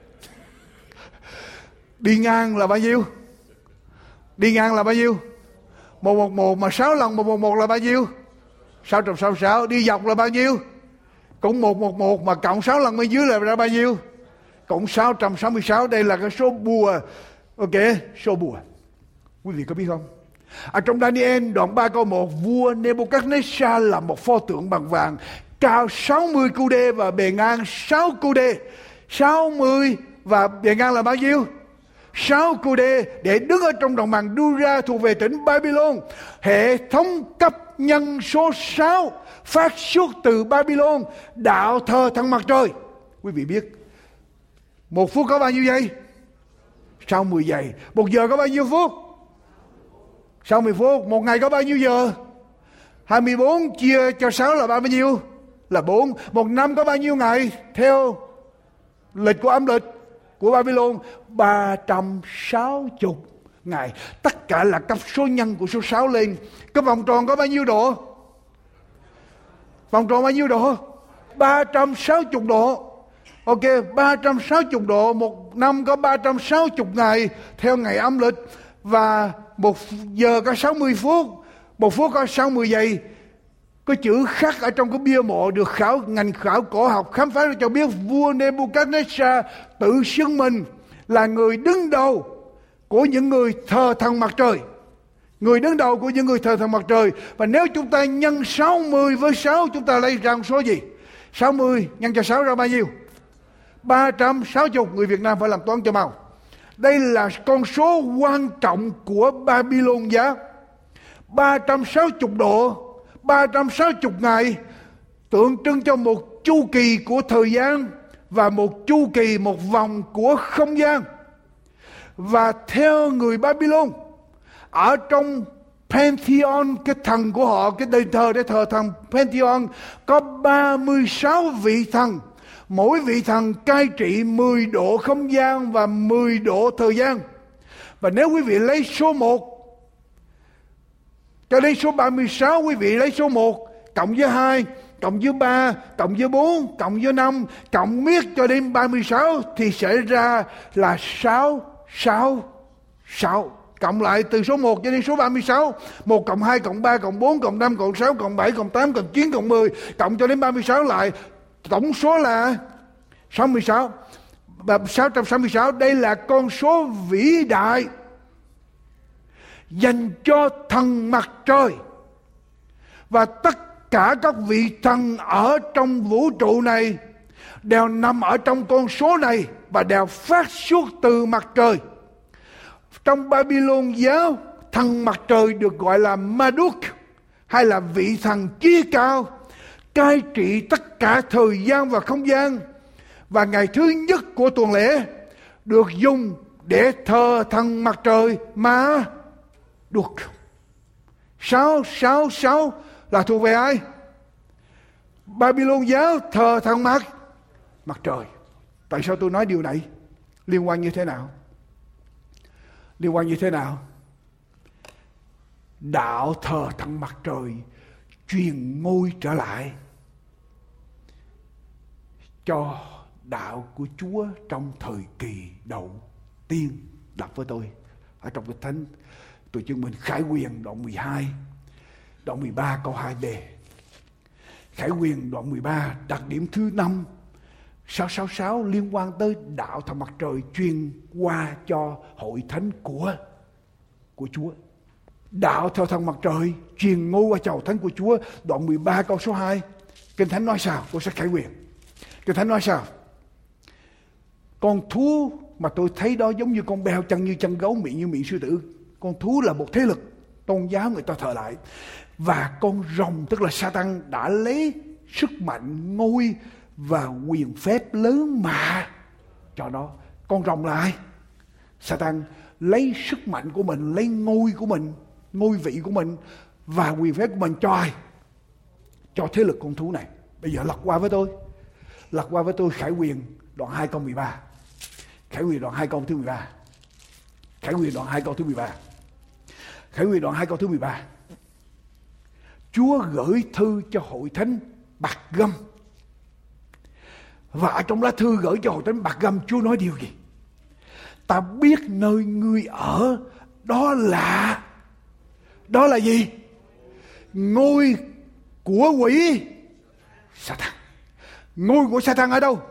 Đi ngang là bao nhiêu? Đi ngang là bao nhiêu? một một một, mà sáu lần một một một là bao nhiêu? sáu trăm sáu mươi sáu. Đi dọc là bao nhiêu? Cũng một một một, mà cộng sáu lần bên dưới là ra bao nhiêu? Cũng sáu trăm sáu mươi sáu. Đây là cái số bùa. Ok, số bùa. Quý vị có biết không? Ở trong Daniel đoạn ba câu một, vua Nebuchadnezzar là một pho tượng bằng vàng, cao sáu mươi cu đê và bề ngang sáu cu đê. sáu mươi và bề ngang là bao nhiêu? sáu cu đê, để đứng ở trong đồng bằng Dura thuộc về tỉnh Babylon. Hệ thống cấp nhân số sáu phát xuất từ Babylon, đạo thờ thần mặt trời. Quý vị biết một phút có bao nhiêu giây? sáu mươi giây. Một giờ có bao nhiêu phút? sáu mươi phút. Một ngày có bao nhiêu giờ? hai mươi bốn chia cho sáu là bao nhiêu? Là bốn. Một năm có bao nhiêu ngày? Theo lịch của âm lịch của Babylon, ba trăm sáu mươi ngày. Tất cả là cấp số nhân của số sáu lên. Cái vòng tròn có bao nhiêu độ? Vòng tròn bao nhiêu độ? ba trăm sáu mươi độ. Ok, ba trăm sáu mươi độ. Một năm có ba trăm sáu mươi ngày theo ngày âm lịch. Và một giờ có sáu mươi phút. Một phút có sáu mươi giây. Có chữ khắc ở trong cái bia mộ được khảo ngành khảo cổ học khám phá ra cho biết vua Nebuchadnezzar tự xưng mình là người đứng đầu của những người thờ thần mặt trời. Người đứng đầu của những người thờ thần mặt trời. Và nếu chúng ta nhân sáu mươi với sáu, chúng ta lấy ra số gì? sáu mươi nhân cho sáu ra bao nhiêu? ba trăm sáu mươi. Người Việt Nam phải làm toán cho mau. Đây là con số quan trọng của Babylon giá. ba trăm sáu mươi độ, ba trăm sáu mươi ngày tượng trưng cho một chu kỳ của thời gian và một chu kỳ, một vòng của không gian. Và theo người Babylon, ở trong Pantheon, cái thần của họ, cái đền thờ để thờ thần Pantheon, có ba mươi sáu vị thần. Mỗi vị thần cai trị mười độ không gian và mười độ thời gian. Và nếu quý vị lấy số một cho đến số ba mươi sáu, quý vị lấy số một cộng với hai, cộng với ba, cộng với bốn, cộng với năm, cộng miết cho đến ba mươi sáu thì sẽ ra là sáu, sáu, sáu. Cộng lại từ số một cho đến số ba mươi sáu. một cộng hai, cộng ba, cộng bốn, cộng năm, cộng sáu, cộng bảy, cộng tám, cộng chín, cộng mười. Cộng cho đến ba mươi sáu lại. Tổng số là sáu mươi sáu. Và sáu trăm sáu mươi sáu. Đây là con số vĩ đại dành cho thần mặt trời. Và tất cả các vị thần ở trong vũ trụ này đều nằm ở trong con số này và đều phát xuất từ mặt trời. Trong Babylon giáo, thần mặt trời được gọi là Marduk, hay là vị thần chí cao, cai trị tất cả thời gian và không gian. Và ngày thứ nhất của tuần lễ được dùng để thờ thần mặt trời mà được. Sáu, sáu, sáu là thuộc về ai? Babylon giáo thờ thần mặt mặt trời. Tại sao tôi nói điều này? Liên quan như thế nào? Liên quan như thế nào? Đạo thờ thần mặt trời truyền ngôi trở lại cho đạo của Chúa trong thời kỳ đầu tiên. Đọc với tôi ở trong cái thánh tôi chứng minh Khải Huyền đoạn mười hai, đoạn mười ba câu hai b. Khải Huyền đoạn mười ba đặc điểm thứ năm, sáu sáu sáu liên quan tới đạo thần mặt trời truyền qua cho hội thánh của của Chúa. Đạo theo thần mặt trời truyền ngôi qua cho hội thánh của Chúa. Đoạn mười ba câu số hai, Kinh Thánh nói sao? Tôi sẽ Khải Huyền. Kinh Thánh nói sao? Con thú mà tôi thấy đó giống như con beo, chân như chân gấu, miệng như miệng sư tử. Con thú là một thế lực tôn giáo người ta thờ lại. Và con rồng tức là Satan đã lấy sức mạnh, ngôi và quyền phép lớn mà cho nó. Con rồng là ai? Satan lấy sức mạnh của mình, lấy ngôi của mình, ngôi vị của mình và quyền phép của mình cho ai? Cho thế lực con thú này. Bây giờ lật qua với tôi. Lật qua với tôi Khải Huyền đoạn hai câu mười ba. Khải Huyền đoạn hai câu thứ mười ba. Khải Huyền đoạn hai câu thứ mười ba. Khải Huyền đoạn hai câu thứ mười ba. Chúa gửi thư cho hội thánh Bạc Gâm. Và ở trong lá thư gửi cho hội thánh Bạc Gâm, Chúa nói điều gì? Ta biết nơi ngươi ở, đó là đó là gì? Ngôi của quỷ Satan. Ngôi của Satan ở đâu?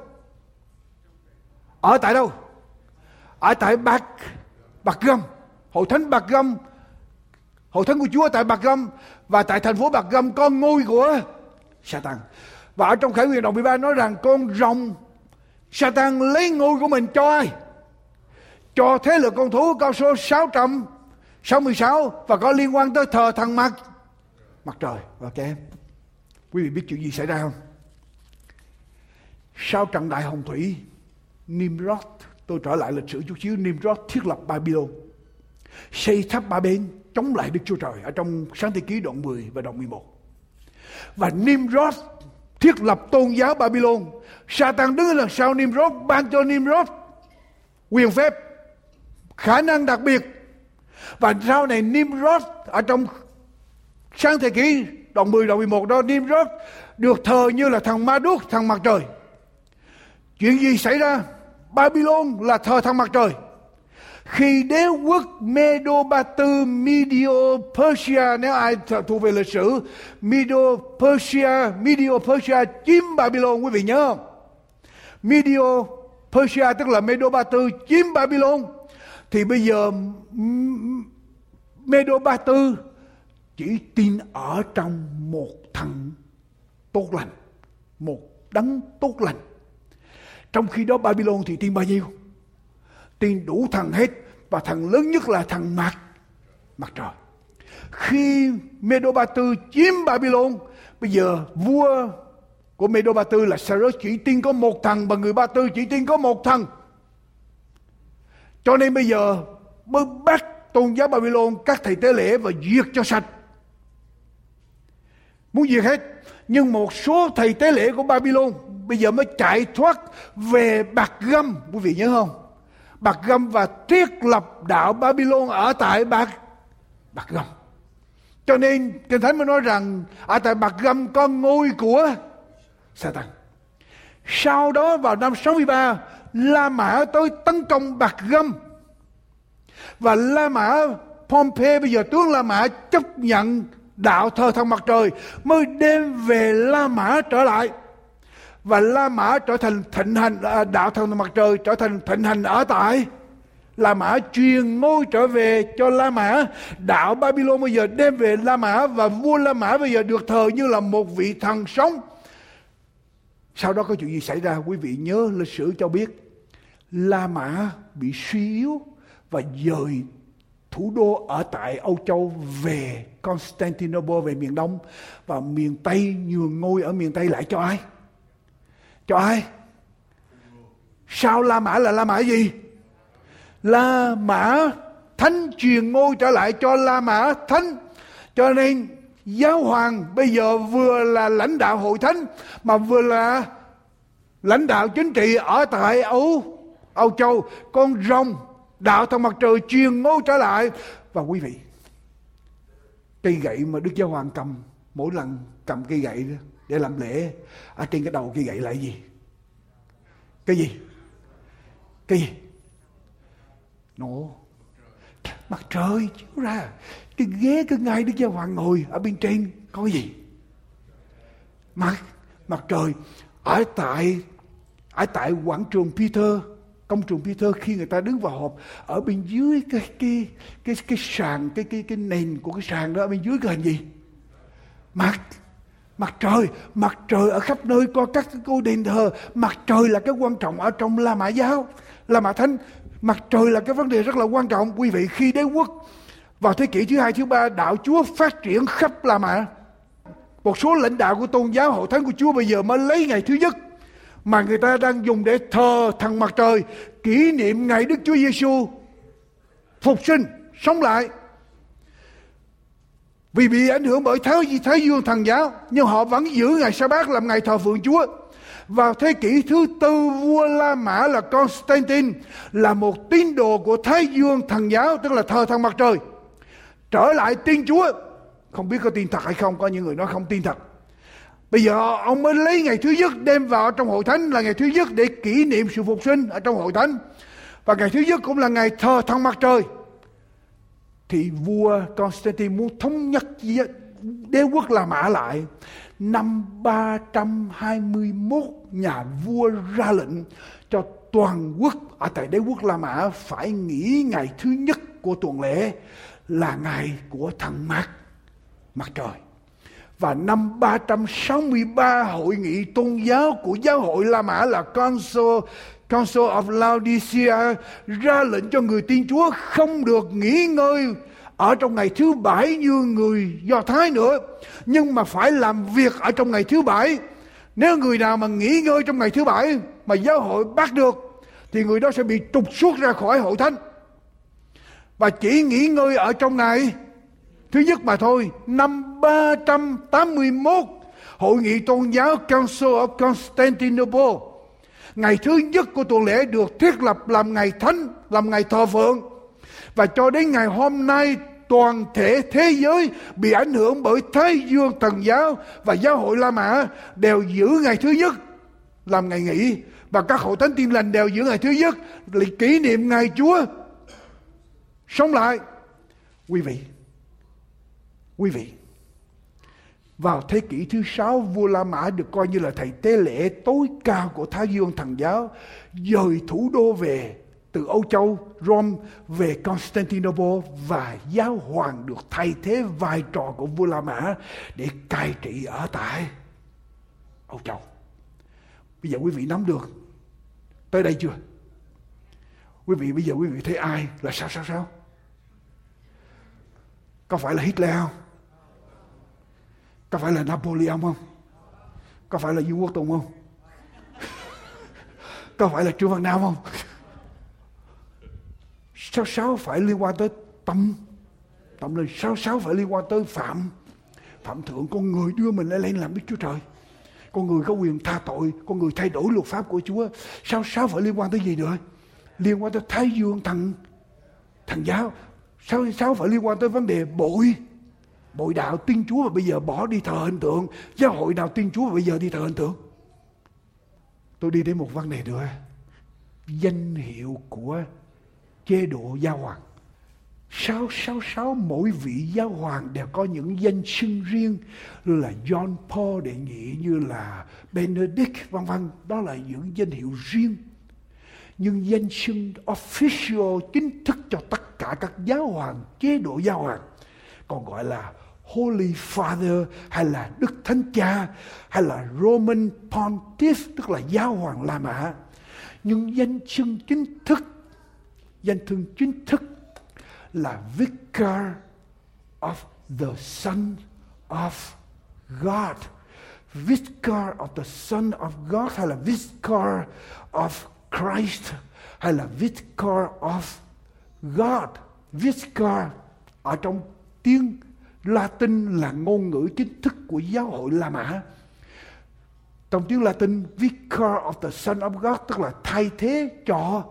Ở tại đâu? Ở tại Bạc Bạc Gâm. Hội thánh Bạc Gâm, hội thánh của Chúa tại Bạc Gâm. Và tại thành phố Bạc Gâm có ngôi của Satan. Và ở trong Khải Huyền đoạn mười ba nói rằng con rồng Satan lấy ngôi của mình cho ai? Cho thế lực con thú, con số sáu trăm sáu mươi sáu và có liên quan tới thờ thần mặt mặt trời. Ok, quý vị biết chuyện gì xảy ra không? Sau trận đại hồng thủy, Nimrod, tôi trở lại lịch sử chút xíu, Nimrod thiết lập Babylon, xây tháp ba bên chống lại Đức Chúa Trời ở trong Sáng Thế Ký đoạn mười và đoạn mười một. Và Nimrod thiết lập tôn giáo Babylon. Satan đứng đằng sau Nimrod, ban cho Nimrod quyền phép, khả năng đặc biệt. Và sau này Nimrod ở trong Sáng Thế Ký đoạn mười đoạn mười một đó, Nimrod được thờ như là thằng Ma Đuốc, thằng mặt trời. Chuyện gì xảy ra? Babylon là thờ thằng mặt trời. Khi đế quốc Medo Ba Tư, Medio Persia, nếu ai thuộc về lịch sử, Medo Persia, Medio Persia chiếm Babylon, quý vị nhớ không? Medio Persia tức là Medo Ba Tư chiếm Babylon. Thì bây giờ Medo Ba Tư chỉ tin ở trong một thằng tốt lành, một đấng tốt lành. Trong khi đó Babylon thì tin bao nhiêu? Tin đủ thằng hết, và thằng lớn nhất là thằng mặt mặt trời. Khi Medo Ba Tư chiếm Babylon, bây giờ vua của Medo Ba Tư là Cyrus chỉ tin có một thằng, và người Ba Tư chỉ tin có một thằng. Cho nên bây giờ mới bắt tôn giáo Babylon, các thầy tế lễ và diệt cho sạch. Muốn diệt hết. Nhưng một số thầy tế lễ của Babylon bây giờ mới chạy thoát về Bạc Gâm, quý vị nhớ không? Bạc Gâm, và thiết lập đạo Babylon ở tại Bạc Bạc Gâm. Cho nên Kinh Thánh mới nói rằng ở tại Bạc Gâm có ngôi của Satan. Sau đó vào năm sáu mươi ba, La Mã tới tấn công Bạc Gâm, và La Mã Pompey, bây giờ tướng La Mã chấp nhận đạo thờ thần mặt trời, mới đem về La Mã trở lại. Và La Mã trở thành thịnh hành, đạo thần mặt trời trở thành thịnh hành ở tại La Mã, truyền ngôi trở về cho La Mã. Đạo Babylon bây giờ đem về La Mã, và vua La Mã bây giờ được thờ như là một vị thần sống. Sau đó có chuyện gì xảy ra? Quý vị nhớ lịch sử cho biết La Mã bị suy yếu và dời thủ đô ở tại Âu Châu về Constantinople, về miền Đông, và miền Tây nhường ngôi ở miền Tây lại cho ai? Cho ai? Sau La Mã là La Mã gì? La Mã Thánh, truyền ngôi trở lại cho La Mã Thánh. Cho nên giáo hoàng bây giờ vừa là lãnh đạo hội thánh, mà vừa là lãnh đạo chính trị ở tại Âu Âu Châu. Con rồng đạo thần mặt trời truyền ngôi trở lại. Và quý vị, cây gậy mà Đức Giáo Hoàng cầm, mỗi lần cầm cây gậy để làm lễ, ở trên cái đầu cây gậy là cái gì? Cái gì? Cái gì? Nổ mặt trời chiếu ra. Cái ghế cái ngai Đức Giáo Hoàng ngồi ở bên trên có cái gì? Mặt mặt trời. Ở tại ở tại quảng trường Peter, công trường Peter, khi người ta đứng vào họp, ở bên dưới cái cái cái cái sàn, cái cái cái nền của cái sàn đó, ở bên dưới cái hình gì? Mặt mặt trời. Mặt trời ở khắp nơi, có các cái ngôi đền thờ. Mặt trời là cái quan trọng ở trong La Mã giáo, La Mã Thánh. Mặt trời là cái vấn đề rất là quan trọng. Quý vị, khi đế quốc vào thế kỷ thứ hai, thứ ba, đạo Chúa phát triển khắp La Mã. Một số lãnh đạo của tôn giáo hội thánh của Chúa bây giờ mới lấy ngày thứ nhất mà người ta đang dùng để thờ thần mặt trời, kỷ niệm ngày Đức Chúa Giêsu phục sinh, sống lại. Vì bị ảnh hưởng bởi Thái, Thái Dương thần giáo, nhưng họ vẫn giữ ngày Sa-bát làm ngày thờ phượng Chúa. Vào thế kỷ thứ tư, vua La Mã là Constantine là một tín đồ của Thái Dương thần giáo, tức là thờ thần mặt trời, trở lại tin Chúa. Không biết có tin thật hay không, có những người nói không tin thật. Bây giờ ông mới lấy ngày thứ nhất đem vào trong hội thánh là ngày thứ nhất để kỷ niệm sự phục sinh ở trong hội thánh. Và ngày thứ nhất cũng là ngày thờ thần mặt trời. Thì vua Constantine muốn thống nhất đế quốc La Mã lại. Năm ba trăm hai mươi mốt, nhà vua ra lệnh cho toàn quốc ở tại đế quốc La Mã phải nghỉ ngày thứ nhất của tuần lễ là ngày của thần mặt mặt trời. Và năm ba trăm sáu mươi ba, hội nghị tôn giáo của giáo hội La Mã là Council, Council of Laodicea ra lệnh cho người tin Chúa không được nghỉ ngơi ở trong ngày thứ bảy như người Do Thái nữa, nhưng mà phải làm việc ở trong ngày thứ bảy. Nếu người nào mà nghỉ ngơi trong ngày thứ bảy mà giáo hội bắt được thì người đó sẽ bị trục xuất ra khỏi hội thánh, và chỉ nghỉ ngơi ở trong ngày thứ nhất mà thôi. Năm ba trăm tám mươi mốt, Hội nghị Tôn giáo Council of Constantinople, ngày thứ nhất của tuần lễ được thiết lập làm ngày thánh, làm ngày thờ phượng. Và cho đến ngày hôm nay, toàn thể thế giới bị ảnh hưởng bởi Thái Dương Thần giáo và giáo hội La Mã đều giữ ngày thứ nhất làm ngày nghỉ, và các hội thánh Tin Lành đều giữ ngày thứ nhất để kỷ niệm ngày Chúa sống lại. Quý vị, quý vị, vào thế kỷ thứ sáu, vua La Mã được coi như là thầy tế lễ tối cao của Thái Dương Thần giáo, dời thủ đô về từ Âu Châu, Rome về Constantinople, và giáo hoàng được thay thế vai trò của vua La Mã để cai trị ở tại Âu Châu. Bây giờ quý vị nắm được tới đây chưa? Quý vị bây giờ quý vị thấy ai là sao sao sao? Có phải là Hitler không? Có phải là Napoleon không? Có phải là Dương Quốc Tùng không? Có phải là Trương Văn Nam không? Sao sao phải liên quan tới tâm tâm linh? Sao sao phải liên quan tới phạm phạm thượng? Con người đưa mình lên làm Đức Chúa Trời, con người có quyền tha tội, con người thay đổi luật pháp của Chúa. Sao sao phải liên quan tới gì nữa? Liên quan tới Thái Dương thần thần giáo. Sao sao phải liên quan tới vấn đề bội bội đạo tin Chúa và bây giờ bỏ đi thờ hình tượng? Giáo hội nào tin Chúa và bây giờ đi thờ hình tượng? Tôi đi đến một vấn đề nữa, danh hiệu của chế độ giáo hoàng. Sao sao sao mỗi vị giáo hoàng đều có những danh xưng riêng, như là John Paul đệ nhị, như là Benedict, vân vân. Đó là những danh hiệu riêng. Nhưng danh xưng official, chính thức cho tất cả các giáo hoàng, chế độ giáo hoàng, còn gọi là Holy Father, hay là Đức Thánh Cha, hay là Roman Pontiff, tức là giáo hoàng La Mã. Nhưng danh xưng chính thức, danh xưng chính thức là Vicar of the Son of God. Vicar of the Son of God, hay là Vicar of Christ, hay là Vicar of God. Vicar ở trong tiếng Latin là ngôn ngữ chính thức của giáo hội La Mã. Trong tiếng Latin, Vicar of the Son of God tức là thay thế cho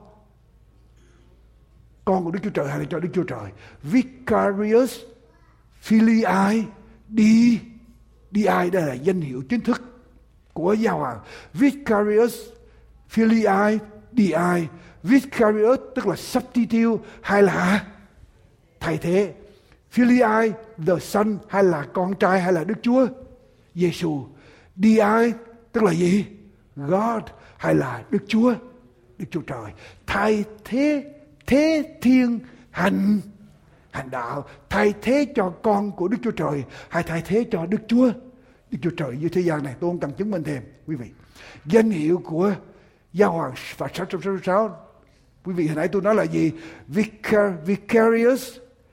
con của Đức Chúa Trời hay là cho Đức Chúa Trời. Vicarius Filii Dei, Dei đây là danh hiệu chính thức của giáo hoàng. Vicarius Filii Dei, Vicarius tức là substitute hay là thay thế. Filii the Son hay là con trai hay là Đức Chúa Giêsu. Dei tức là gì? God hay là Đức Chúa, Đức Chúa Trời. Thay thế, thế thiên hành hành đạo, thay thế cho con của Đức Chúa Trời hay thay thế cho Đức Chúa, Đức Chúa Trời như thế gian này. Tôi không cần chứng minh thêm quý vị. Danh hiệu của giáo hoàng và sáu trăm sáu mươi sáu, quý vị hồi nãy tôi nói là gì? Vicar, Vicarius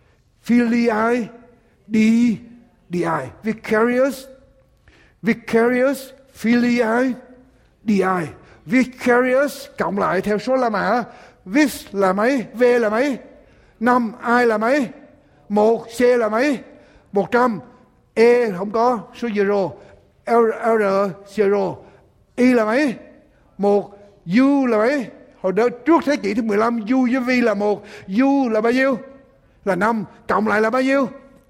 Filii Dei, Dei, Vicarius, Vicarius Filii Dei, Vicarius cộng lại theo số La Mã. Vis là mấy? V là mấy? Năm. I là mấy? Một. C là mấy? Một trăm. E không có số zero. L, R zero. I là mấy? Một. U là mấy? Hồi đó trước thế kỷ thứ mười lăm, U với V là một. U là bao nhiêu? Là năm. Cộng lại là bao nhiêu?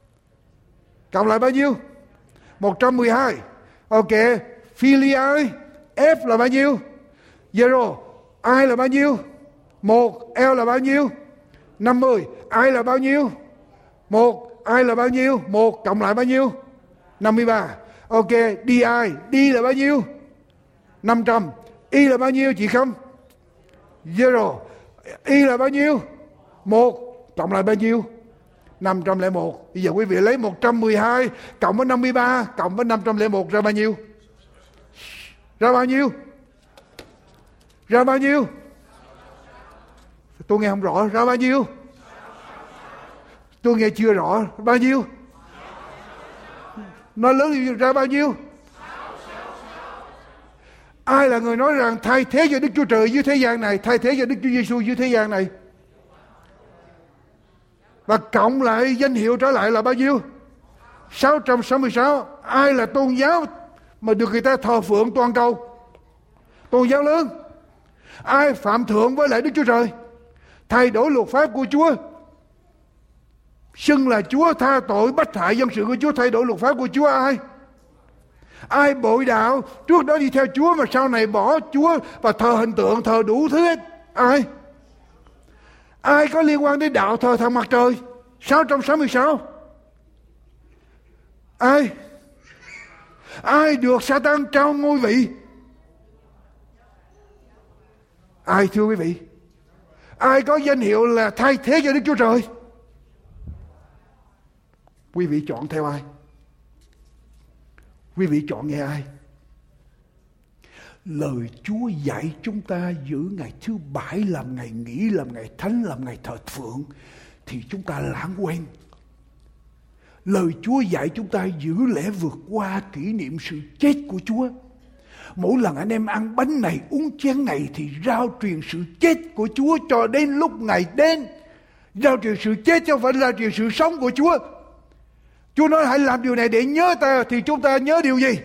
Cộng lại bao nhiêu? một trăm mười hai. Ok. Filii F là bao nhiêu? Zero. I là bao nhiêu? Một. L là bao nhiêu? năm mươi. I là bao nhiêu? Một. I là bao nhiêu? Một. Cộng lại bao nhiêu? năm mươi ba. Ok. Di. D là bao nhiêu? năm trăm. Y là bao nhiêu chị không? Zero. Y là bao nhiêu? Một. Cộng lại bao nhiêu? năm trăm lẻ một. Bây giờ quý vị lấy một trăm mười hai cộng với năm mươi ba cộng với năm trăm lẻ một ra bao nhiêu? Ra bao nhiêu? Ra bao nhiêu? Tôi nghe không rõ. Ra bao nhiêu? Tôi nghe chưa rõ. Bao nhiêu? Nói lớn ra bao nhiêu? Ai là người nói rằng thay thế cho Đức Chúa Trời dưới thế gian này, thay thế cho Đức Chúa Giêsu dưới thế gian này? Và cộng lại danh hiệu trở lại là bao nhiêu? sáu trăm sáu mươi sáu. Ai là tôn giáo mà được người ta thờ phượng toàn cầu? Tôn giáo lớn. Ai phạm thượng với lại Đức Chúa Trời, thay đổi luật pháp của Chúa, xưng là Chúa, tha tội bách hại dân sự của Chúa, thay đổi luật pháp của Chúa? Ai? Ai bội đạo, trước đó đi theo Chúa mà sau này bỏ Chúa và thờ hình tượng, thờ đủ thứ hết? Ai? Ai có liên quan đến đạo thờ thần mặt trời? sáu trăm sáu mươi sáu. Ai? Ai được Sa-tan trao ngôi vị? Ai thưa quý vị? Ai có danh hiệu là thay thế cho Đức Chúa Trời? Quý vị chọn theo ai? Quý vị chọn nghe ai? Lời Chúa dạy chúng ta giữ ngày thứ bảy làm ngày nghỉ, làm ngày thánh, làm ngày thờ phượng, thì chúng ta lãng quên. Lời Chúa dạy chúng ta giữ lễ vượt qua kỷ niệm sự chết của Chúa. Mỗi lần anh em ăn bánh này, uống chén này thì rao truyền sự chết của Chúa cho đến lúc ngày đến. Rao truyền sự chết chứ không phải rao truyền sự sống của Chúa. Chúa nói hãy làm điều này để nhớ ta, thì chúng ta nhớ điều gì?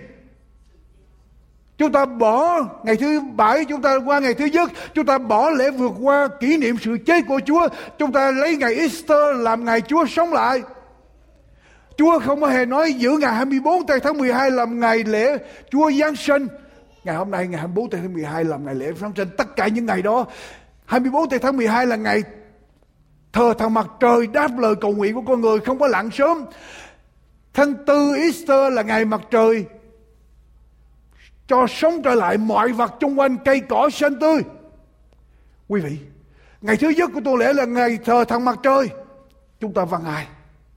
Chúng ta bỏ ngày thứ bảy, chúng ta qua ngày thứ nhất, chúng ta bỏ lễ vượt qua kỷ niệm sự chết của Chúa. Chúng ta lấy ngày Easter làm ngày Chúa sống lại. Chúa không có hề nói giữ ngày hai mươi bốn tây tháng mười hai làm ngày lễ Chúa Giáng sinh. Ngày hôm nay ngày hai mươi bốn tây tháng mười hai làm ngày lễ Giáng sinh. Tất cả những ngày đó, hai mươi bốn tây tháng mười hai là ngày thờ thần mặt trời, đáp lời cầu nguyện của con người, không có lặn sớm. Tháng tư Easter là ngày mặt trời cho sống trở lại mọi vật xung quanh, cây cỏ xanh tươi. Quý vị, ngày thứ nhất của tuần lễ là ngày thờ thần mặt trời. Chúng ta vâng ai?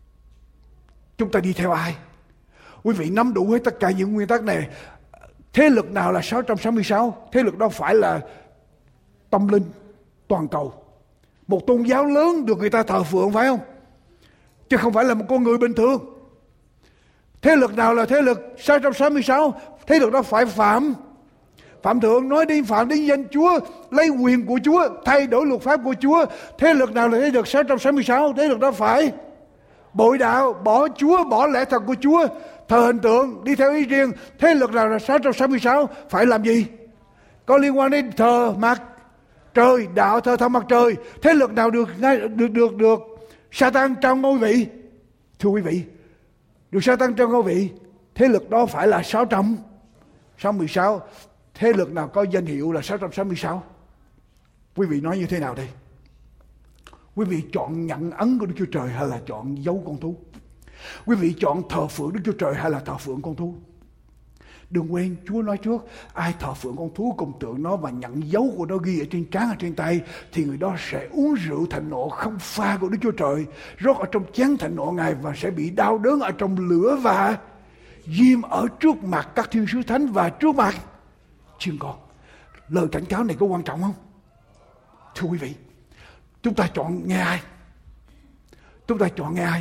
Chúng ta đi theo ai? Quý vị nắm đủ hết tất cả những nguyên tắc này. Thế lực nào là sáu trăm sáu mươi sáu? Thế lực đó phải là tâm linh toàn cầu, một tôn giáo lớn được người ta thờ phượng, phải không? Chứ không phải là một con người bình thường. Thế lực nào là thế lực sáu trăm sáu mươi sáu? Thế lực đó phải phạm phạm thượng, nói đến phạm đến danh Chúa, lấy quyền của Chúa, thay đổi luật pháp của Chúa. Thế lực nào là thế lực sáu trăm sáu mươi sáu? Thế lực đó phải bội đạo, bỏ Chúa, bỏ lẽ thật của Chúa, thờ hình tượng, đi theo ý riêng. Thế lực nào là sáu trăm sáu mươi sáu? Phải làm gì? Có liên quan đến thờ mặt trời, đạo thờ thần mặt trời. Thế lực nào được được được được Sa-tan trao ngôi vị? Thưa quý vị, được Sa-tan trao ngôi vị, thế lực đó phải là sáu trăm sáu mươi sáu. Thế lực nào có danh hiệu là sáu trăm sáu mươi sáu? Quý vị nói như thế nào đây? Quý vị chọn nhận ấn của Đức Chúa Trời hay là chọn dấu con thú? Quý vị chọn thờ phượng Đức Chúa Trời hay là thờ phượng con thú? Đừng quên, Chúa nói trước, ai thờ phượng con thú cùng tượng nó và nhận dấu của nó ghi ở trên trán, ở trên tay, thì người đó sẽ uống rượu thạnh nộ không pha của Đức Chúa Trời, rót ở trong chén thạnh nộ Ngài, và sẽ bị đau đớn ở trong lửa và diêm ở trước mặt các thiên sứ thánh và trước mặt chiên con. Lời cảnh cáo này có quan trọng không? Thưa quý vị, chúng ta chọn nghe ai? Chúng ta chọn nghe ai?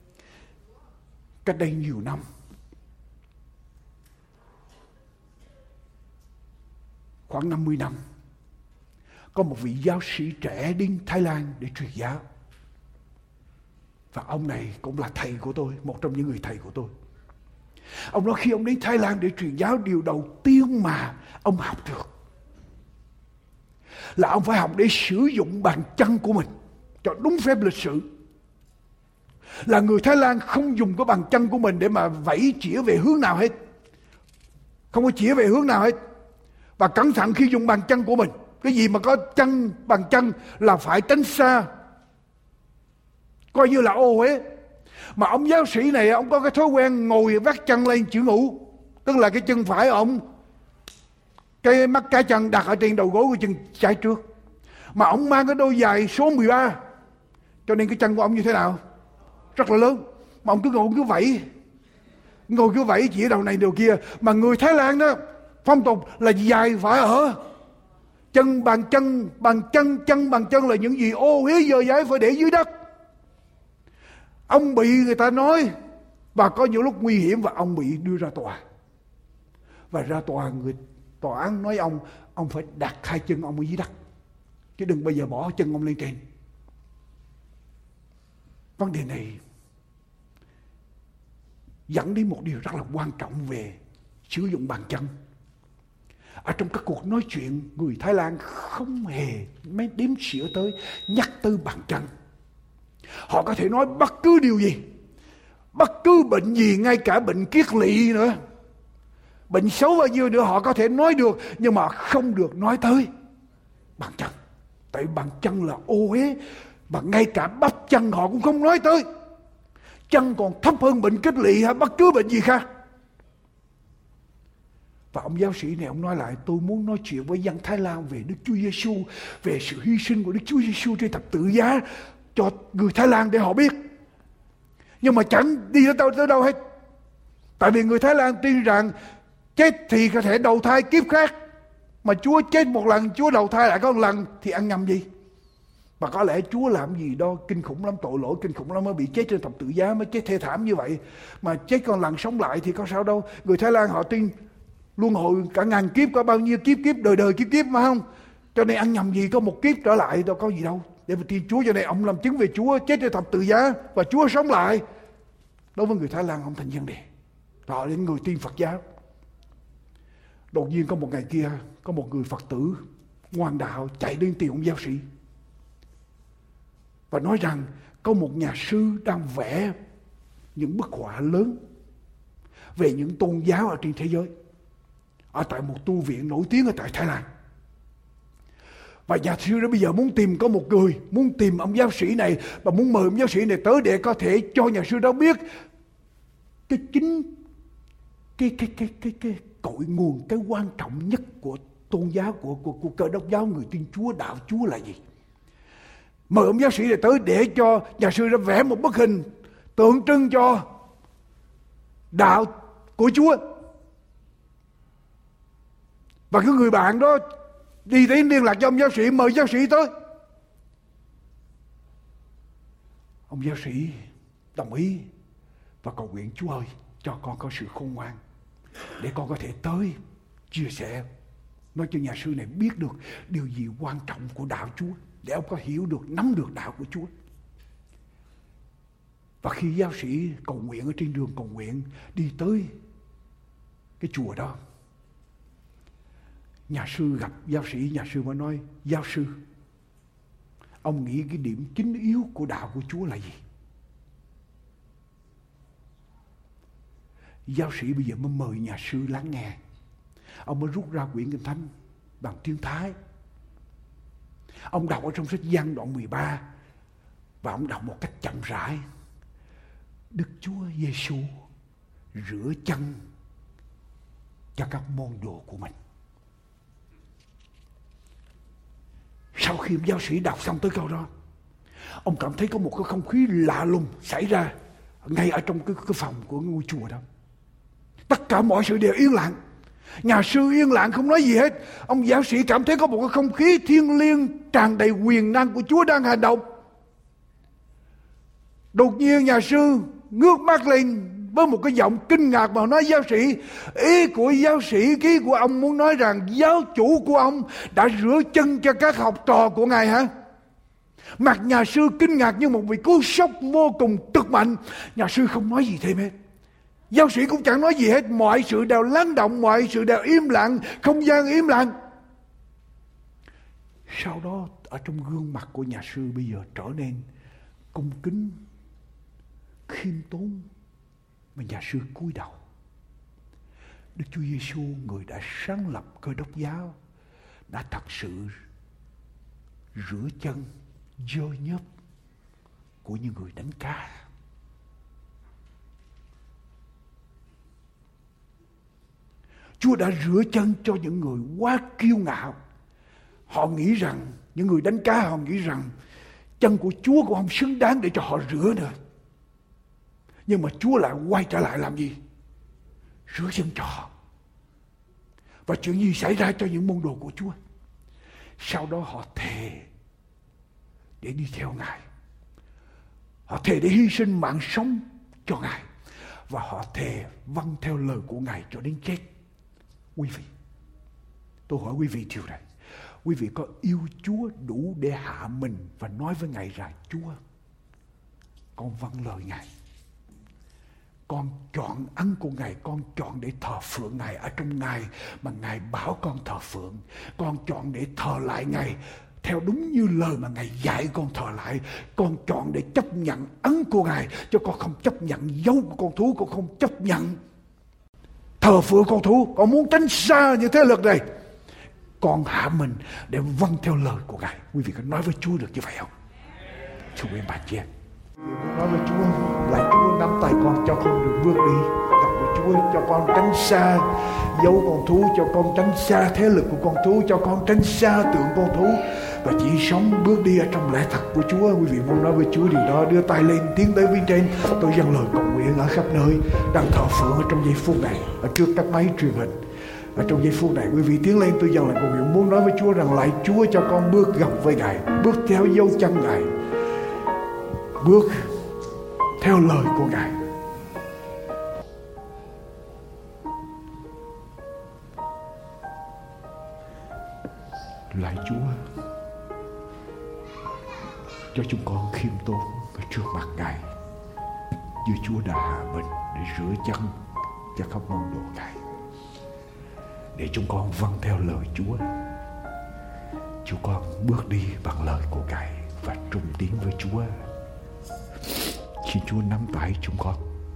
Cách đây nhiều năm, khoảng năm mươi năm, có một vị giáo sĩ trẻ đến Thái Lan để truyền giáo. Và ông này cũng là thầy của tôi, một trong những người thầy của tôi. Ông nói khi ông đến Thái Lan để truyền giáo, điều đầu tiên mà ông học được là ông phải học để sử dụng bàn chân của mình cho đúng phép lịch sử. Là người Thái Lan không dùng cái bàn chân của mình để mà vẫy chĩa về hướng nào hết, không có chĩa về hướng nào hết. Và cẩn thận khi dùng bàn chân của mình, cái gì mà có chân, bàn chân là phải tránh xa, coi như là ô uế. Mà ông giáo sĩ này ông có cái thói quen ngồi vắt chân lên chữ ngũ, tức là cái chân phải ông, cái mắt cá chân đặt ở trên đầu gối của chân trái trước. Mà ông mang cái đôi giày số mười ba, cho nên cái chân của ông như thế nào? Rất là lớn. Mà ông cứ ngồi cứ vẫy, ngồi cứ vẫy chỉ đầu này đầu kia. Mà người Thái Lan đó, phong tục là giày phải ở chân, bàn chân, bàn chân, chân bàn chân là những gì ô uế dơ dãi phải để dưới đất. Ông bị người ta nói, và có những lúc nguy hiểm và ông bị đưa ra tòa. Và ra tòa, người tòa án nói ông, ông phải đặt hai chân ông ở dưới đất, chứ đừng bao giờ bỏ chân ông lên trên. Vấn đề này dẫn đến một điều rất là quan trọng về sử dụng bàn chân. Ở trong các cuộc nói chuyện, người Thái Lan không hề mấy đếm xỉa tới nhắc tới bàn chân. Họ có thể nói bất cứ điều gì, bất cứ bệnh gì, ngay cả bệnh kiết lỵ nữa, bệnh xấu bao nhiêu nữa họ có thể nói được, nhưng mà không được nói tới bàn chân. Tại bàn chân là ô uế, và ngay cả bắp chân họ cũng không nói tới. Chân còn thấp hơn bệnh kiết lỵ hay bất cứ bệnh gì khác. Và ông giáo sĩ này ông nói lại, tôi muốn nói chuyện với dân Thái Lan về Đức Chúa Giêsu, về sự hy sinh của Đức Chúa Giêsu trên thập tự giá cho người Thái Lan để họ biết. Nhưng mà chẳng đi tới đâu, tới đâu hết. Tại vì người Thái Lan tin rằng chết thì có thể đầu thai kiếp khác, mà Chúa chết một lần, Chúa đầu thai lại có một lần thì ăn nhầm gì. Mà có lẽ Chúa làm gì đó kinh khủng lắm, tội lỗi kinh khủng lắm mới bị chết trên thập tự giá, mới chết thê thảm như vậy. Mà chết còn lần sống lại thì có sao đâu. Người Thái Lan họ tin luân hồi cả ngàn kiếp, có bao nhiêu kiếp kiếp đời đời kiếp kiếp mà không. Cho nên ăn nhầm gì có một kiếp trở lại đâu có gì đâu. Để mà tin Chúa, cho nên ông làm chứng về Chúa chết trên thập tự giá và Chúa sống lại. Đối với người Thái Lan không thành vấn đề. Họ đến người tin Phật giáo. Đột nhiên có một ngày kia, có một người Phật tử ngoan đạo chạy đến tìm ông giáo sĩ và nói rằng có một nhà sư đang vẽ những bức họa lớn về những tôn giáo ở trên thế giới, ở tại một tu viện nổi tiếng ở tại Thái Lan. Và nhà sư đó bây giờ muốn tìm có một người, muốn tìm ông giáo sĩ này và muốn mời ông giáo sĩ này tới để có thể cho nhà sư đó biết cái chính cái cái cái cái cái cội nguồn, cái quan trọng nhất của tôn giáo, của của của Cơ Đốc giáo, người tin Chúa, đạo Chúa là gì. Mời ông giáo sĩ này tới để cho nhà sư đó vẽ một bức hình tượng trưng cho đạo của Chúa. Và cái người bạn đó đi đến liên lạc cho ông giáo sĩ, mời giáo sĩ tới. Ông giáo sĩ đồng ý và cầu nguyện, Chúa ơi, cho con có sự khôn ngoan để con có thể tới chia sẻ, nói cho nhà sư này biết được điều gì quan trọng của đạo Chúa, để ông có hiểu được, nắm được đạo của Chúa. Và khi giáo sĩ cầu nguyện ở trên đường cầu nguyện, đi tới cái chùa đó, nhà sư gặp giáo sĩ, nhà sư mới nói, giáo sư, ông nghĩ cái điểm chính yếu của đạo của Chúa là gì? Giáo sĩ bây giờ mới mời nhà sư lắng nghe. Ông mới rút ra quyển Kinh Thánh bằng tiếng Thái. Ông đọc ở trong sách Giăng đoạn mười ba và ông đọc một cách chậm rãi. Đức Chúa Giêsu rửa chân cho các môn đồ của mình. Sau khi giáo sĩ đọc xong tới câu đó, ông cảm thấy có một cái không khí lạ lùng xảy ra ngay ở trong cái, cái phòng của ngôi chùa đó. Tất cả mọi sự đều yên lặng. Nhà sư yên lặng không nói gì hết. Ông giáo sĩ cảm thấy có một cái không khí thiêng liêng tràn đầy quyền năng của Chúa đang hành động. Đột nhiên nhà sư ngước mắt lên với một cái giọng kinh ngạc mà nói, giáo sĩ, ý của giáo sĩ, ý của ông muốn nói rằng giáo chủ của ông đã rửa chân cho các học trò của ngài hả? Mặt nhà sư kinh ngạc như một vị cú sốc vô cùng cực mạnh. Nhà sư không nói gì thêm hết. Giáo sĩ cũng chẳng nói gì hết. Mọi sự đều lắng động, mọi sự đều im lặng, không gian im lặng. Sau đó ở trong gương mặt của nhà sư bây giờ trở nên cung kính, khiêm tốn, mà nhà sư cúi đầu. Đức Chúa Giêsu, người đã sáng lập Cơ Đốc giáo, đã thật sự rửa chân dơ nhớp của những người đánh cá. Chúa đã rửa chân cho những người quá kiêu ngạo. Họ nghĩ rằng, những người đánh cá họ nghĩ rằng chân của Chúa cũng không xứng đáng để cho họ rửa nữa. Nhưng mà Chúa lại quay trở lại làm gì? Rửa chân cho họ. Và chuyện gì xảy ra cho những môn đồ của Chúa? Sau đó họ thề để đi theo Ngài. Họ thề để hy sinh mạng sống cho Ngài. Và họ thề vâng theo lời của Ngài cho đến chết. Quý vị, tôi hỏi quý vị điều này. Quý vị có yêu Chúa đủ để hạ mình và nói với Ngài rằng: Chúa, con vâng lời Ngài, con chọn ăn của Ngài, con chọn để thờ phượng Ngài ở trong Ngài mà Ngài bảo con thờ phượng. Con chọn để thờ lại Ngài theo đúng như lời mà Ngài dạy con thờ lại. Con chọn để chấp nhận ân của Ngài, cho con không chấp nhận dấu của con thú, con không chấp nhận thờ phượng con thú. Con muốn tránh xa những thế lực này. Con hạ mình để vâng theo lời của Ngài. Quý vị có nói với Chúa được như vậy không? Chúa em bà chị em, nói với Chúa, lại Chúa nắm tay con cho con được bước đi. Đọc với Chúa cho con tránh xa dấu con thú, cho con tránh xa thế lực của con thú, cho con tránh xa tượng con thú, và chỉ sống bước đi ở trong lẽ thật của Chúa. Quý vị muốn nói với Chúa điều đó, đưa tay lên tiến tới bên trên. Tôi dâng lời cầu nguyện ở khắp nơi đang thờ phượng ở trong giây phút này, ở trước các máy truyền hình. Ở trong giây phút này, quý vị tiến lên, tôi dâng lời cầu nguyện muốn nói với Chúa rằng: lại Chúa cho con bước gặp với Ngài, bước theo dấu chân Ngài, bước theo lời của Ngài. Lạy Chúa, cho chúng con khiêm tốn ở trước mặt Ngài, như Chúa đã hạ mình để rửa chân cho các môn đồ Ngài, để chúng con vâng theo lời Chúa. Chúng con bước đi bằng lời của Ngài và trung tín với Chúa. Xin Chúa nắm tay chúng con,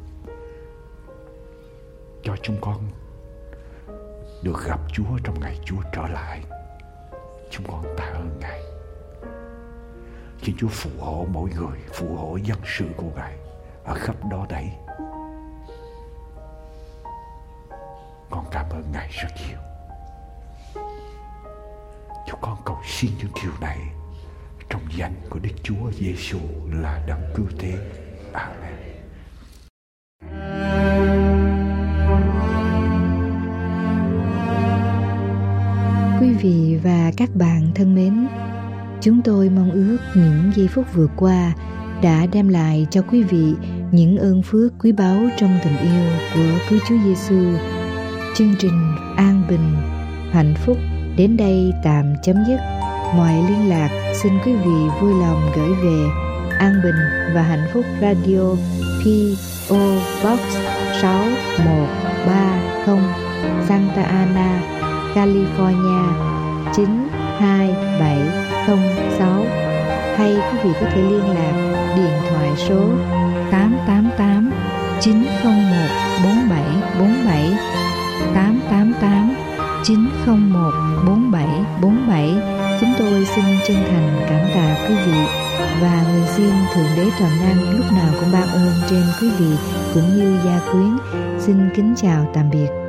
cho chúng con được gặp Chúa trong ngày Chúa trở lại. Chúng con tạ ơn Ngài. Xin Chúa phù hộ mỗi người, phù hộ dân sự của Ngài ở khắp đó đấy. Con cảm ơn Ngài rất nhiều. Chúng con cầu xin những điều này trong danh của Đức Chúa Giêsu là Đấng Cứu Thế. Amen. Quý vị và các bạn thân mến, chúng tôi mong ước những giây phút vừa qua đã đem lại cho quý vị những ơn phước quý báu trong tình yêu của Cứu Chúa Giêsu. Chương trình An Bình, Hạnh Phúc đến đây tạm chấm dứt. Mọi liên lạc xin quý vị vui lòng gửi về An Bình và Hạnh Phúc Radio, pê ô Box sáu một ba không, Santa Ana, California chín hai bảy không sáu. Hay quý vị có thể liên lạc điện thoại số tám tám tám chín không một bốn bảy bốn bảy, tám tám tám chín không một bốn bảy bốn bảy. Chúng tôi xin chân thành cảm tạ quý vị và nguyện xin Thượng Đế Toàn Năng lúc nào cũng ban ơn trên quý vị cũng như gia quyến. Xin kính chào tạm biệt.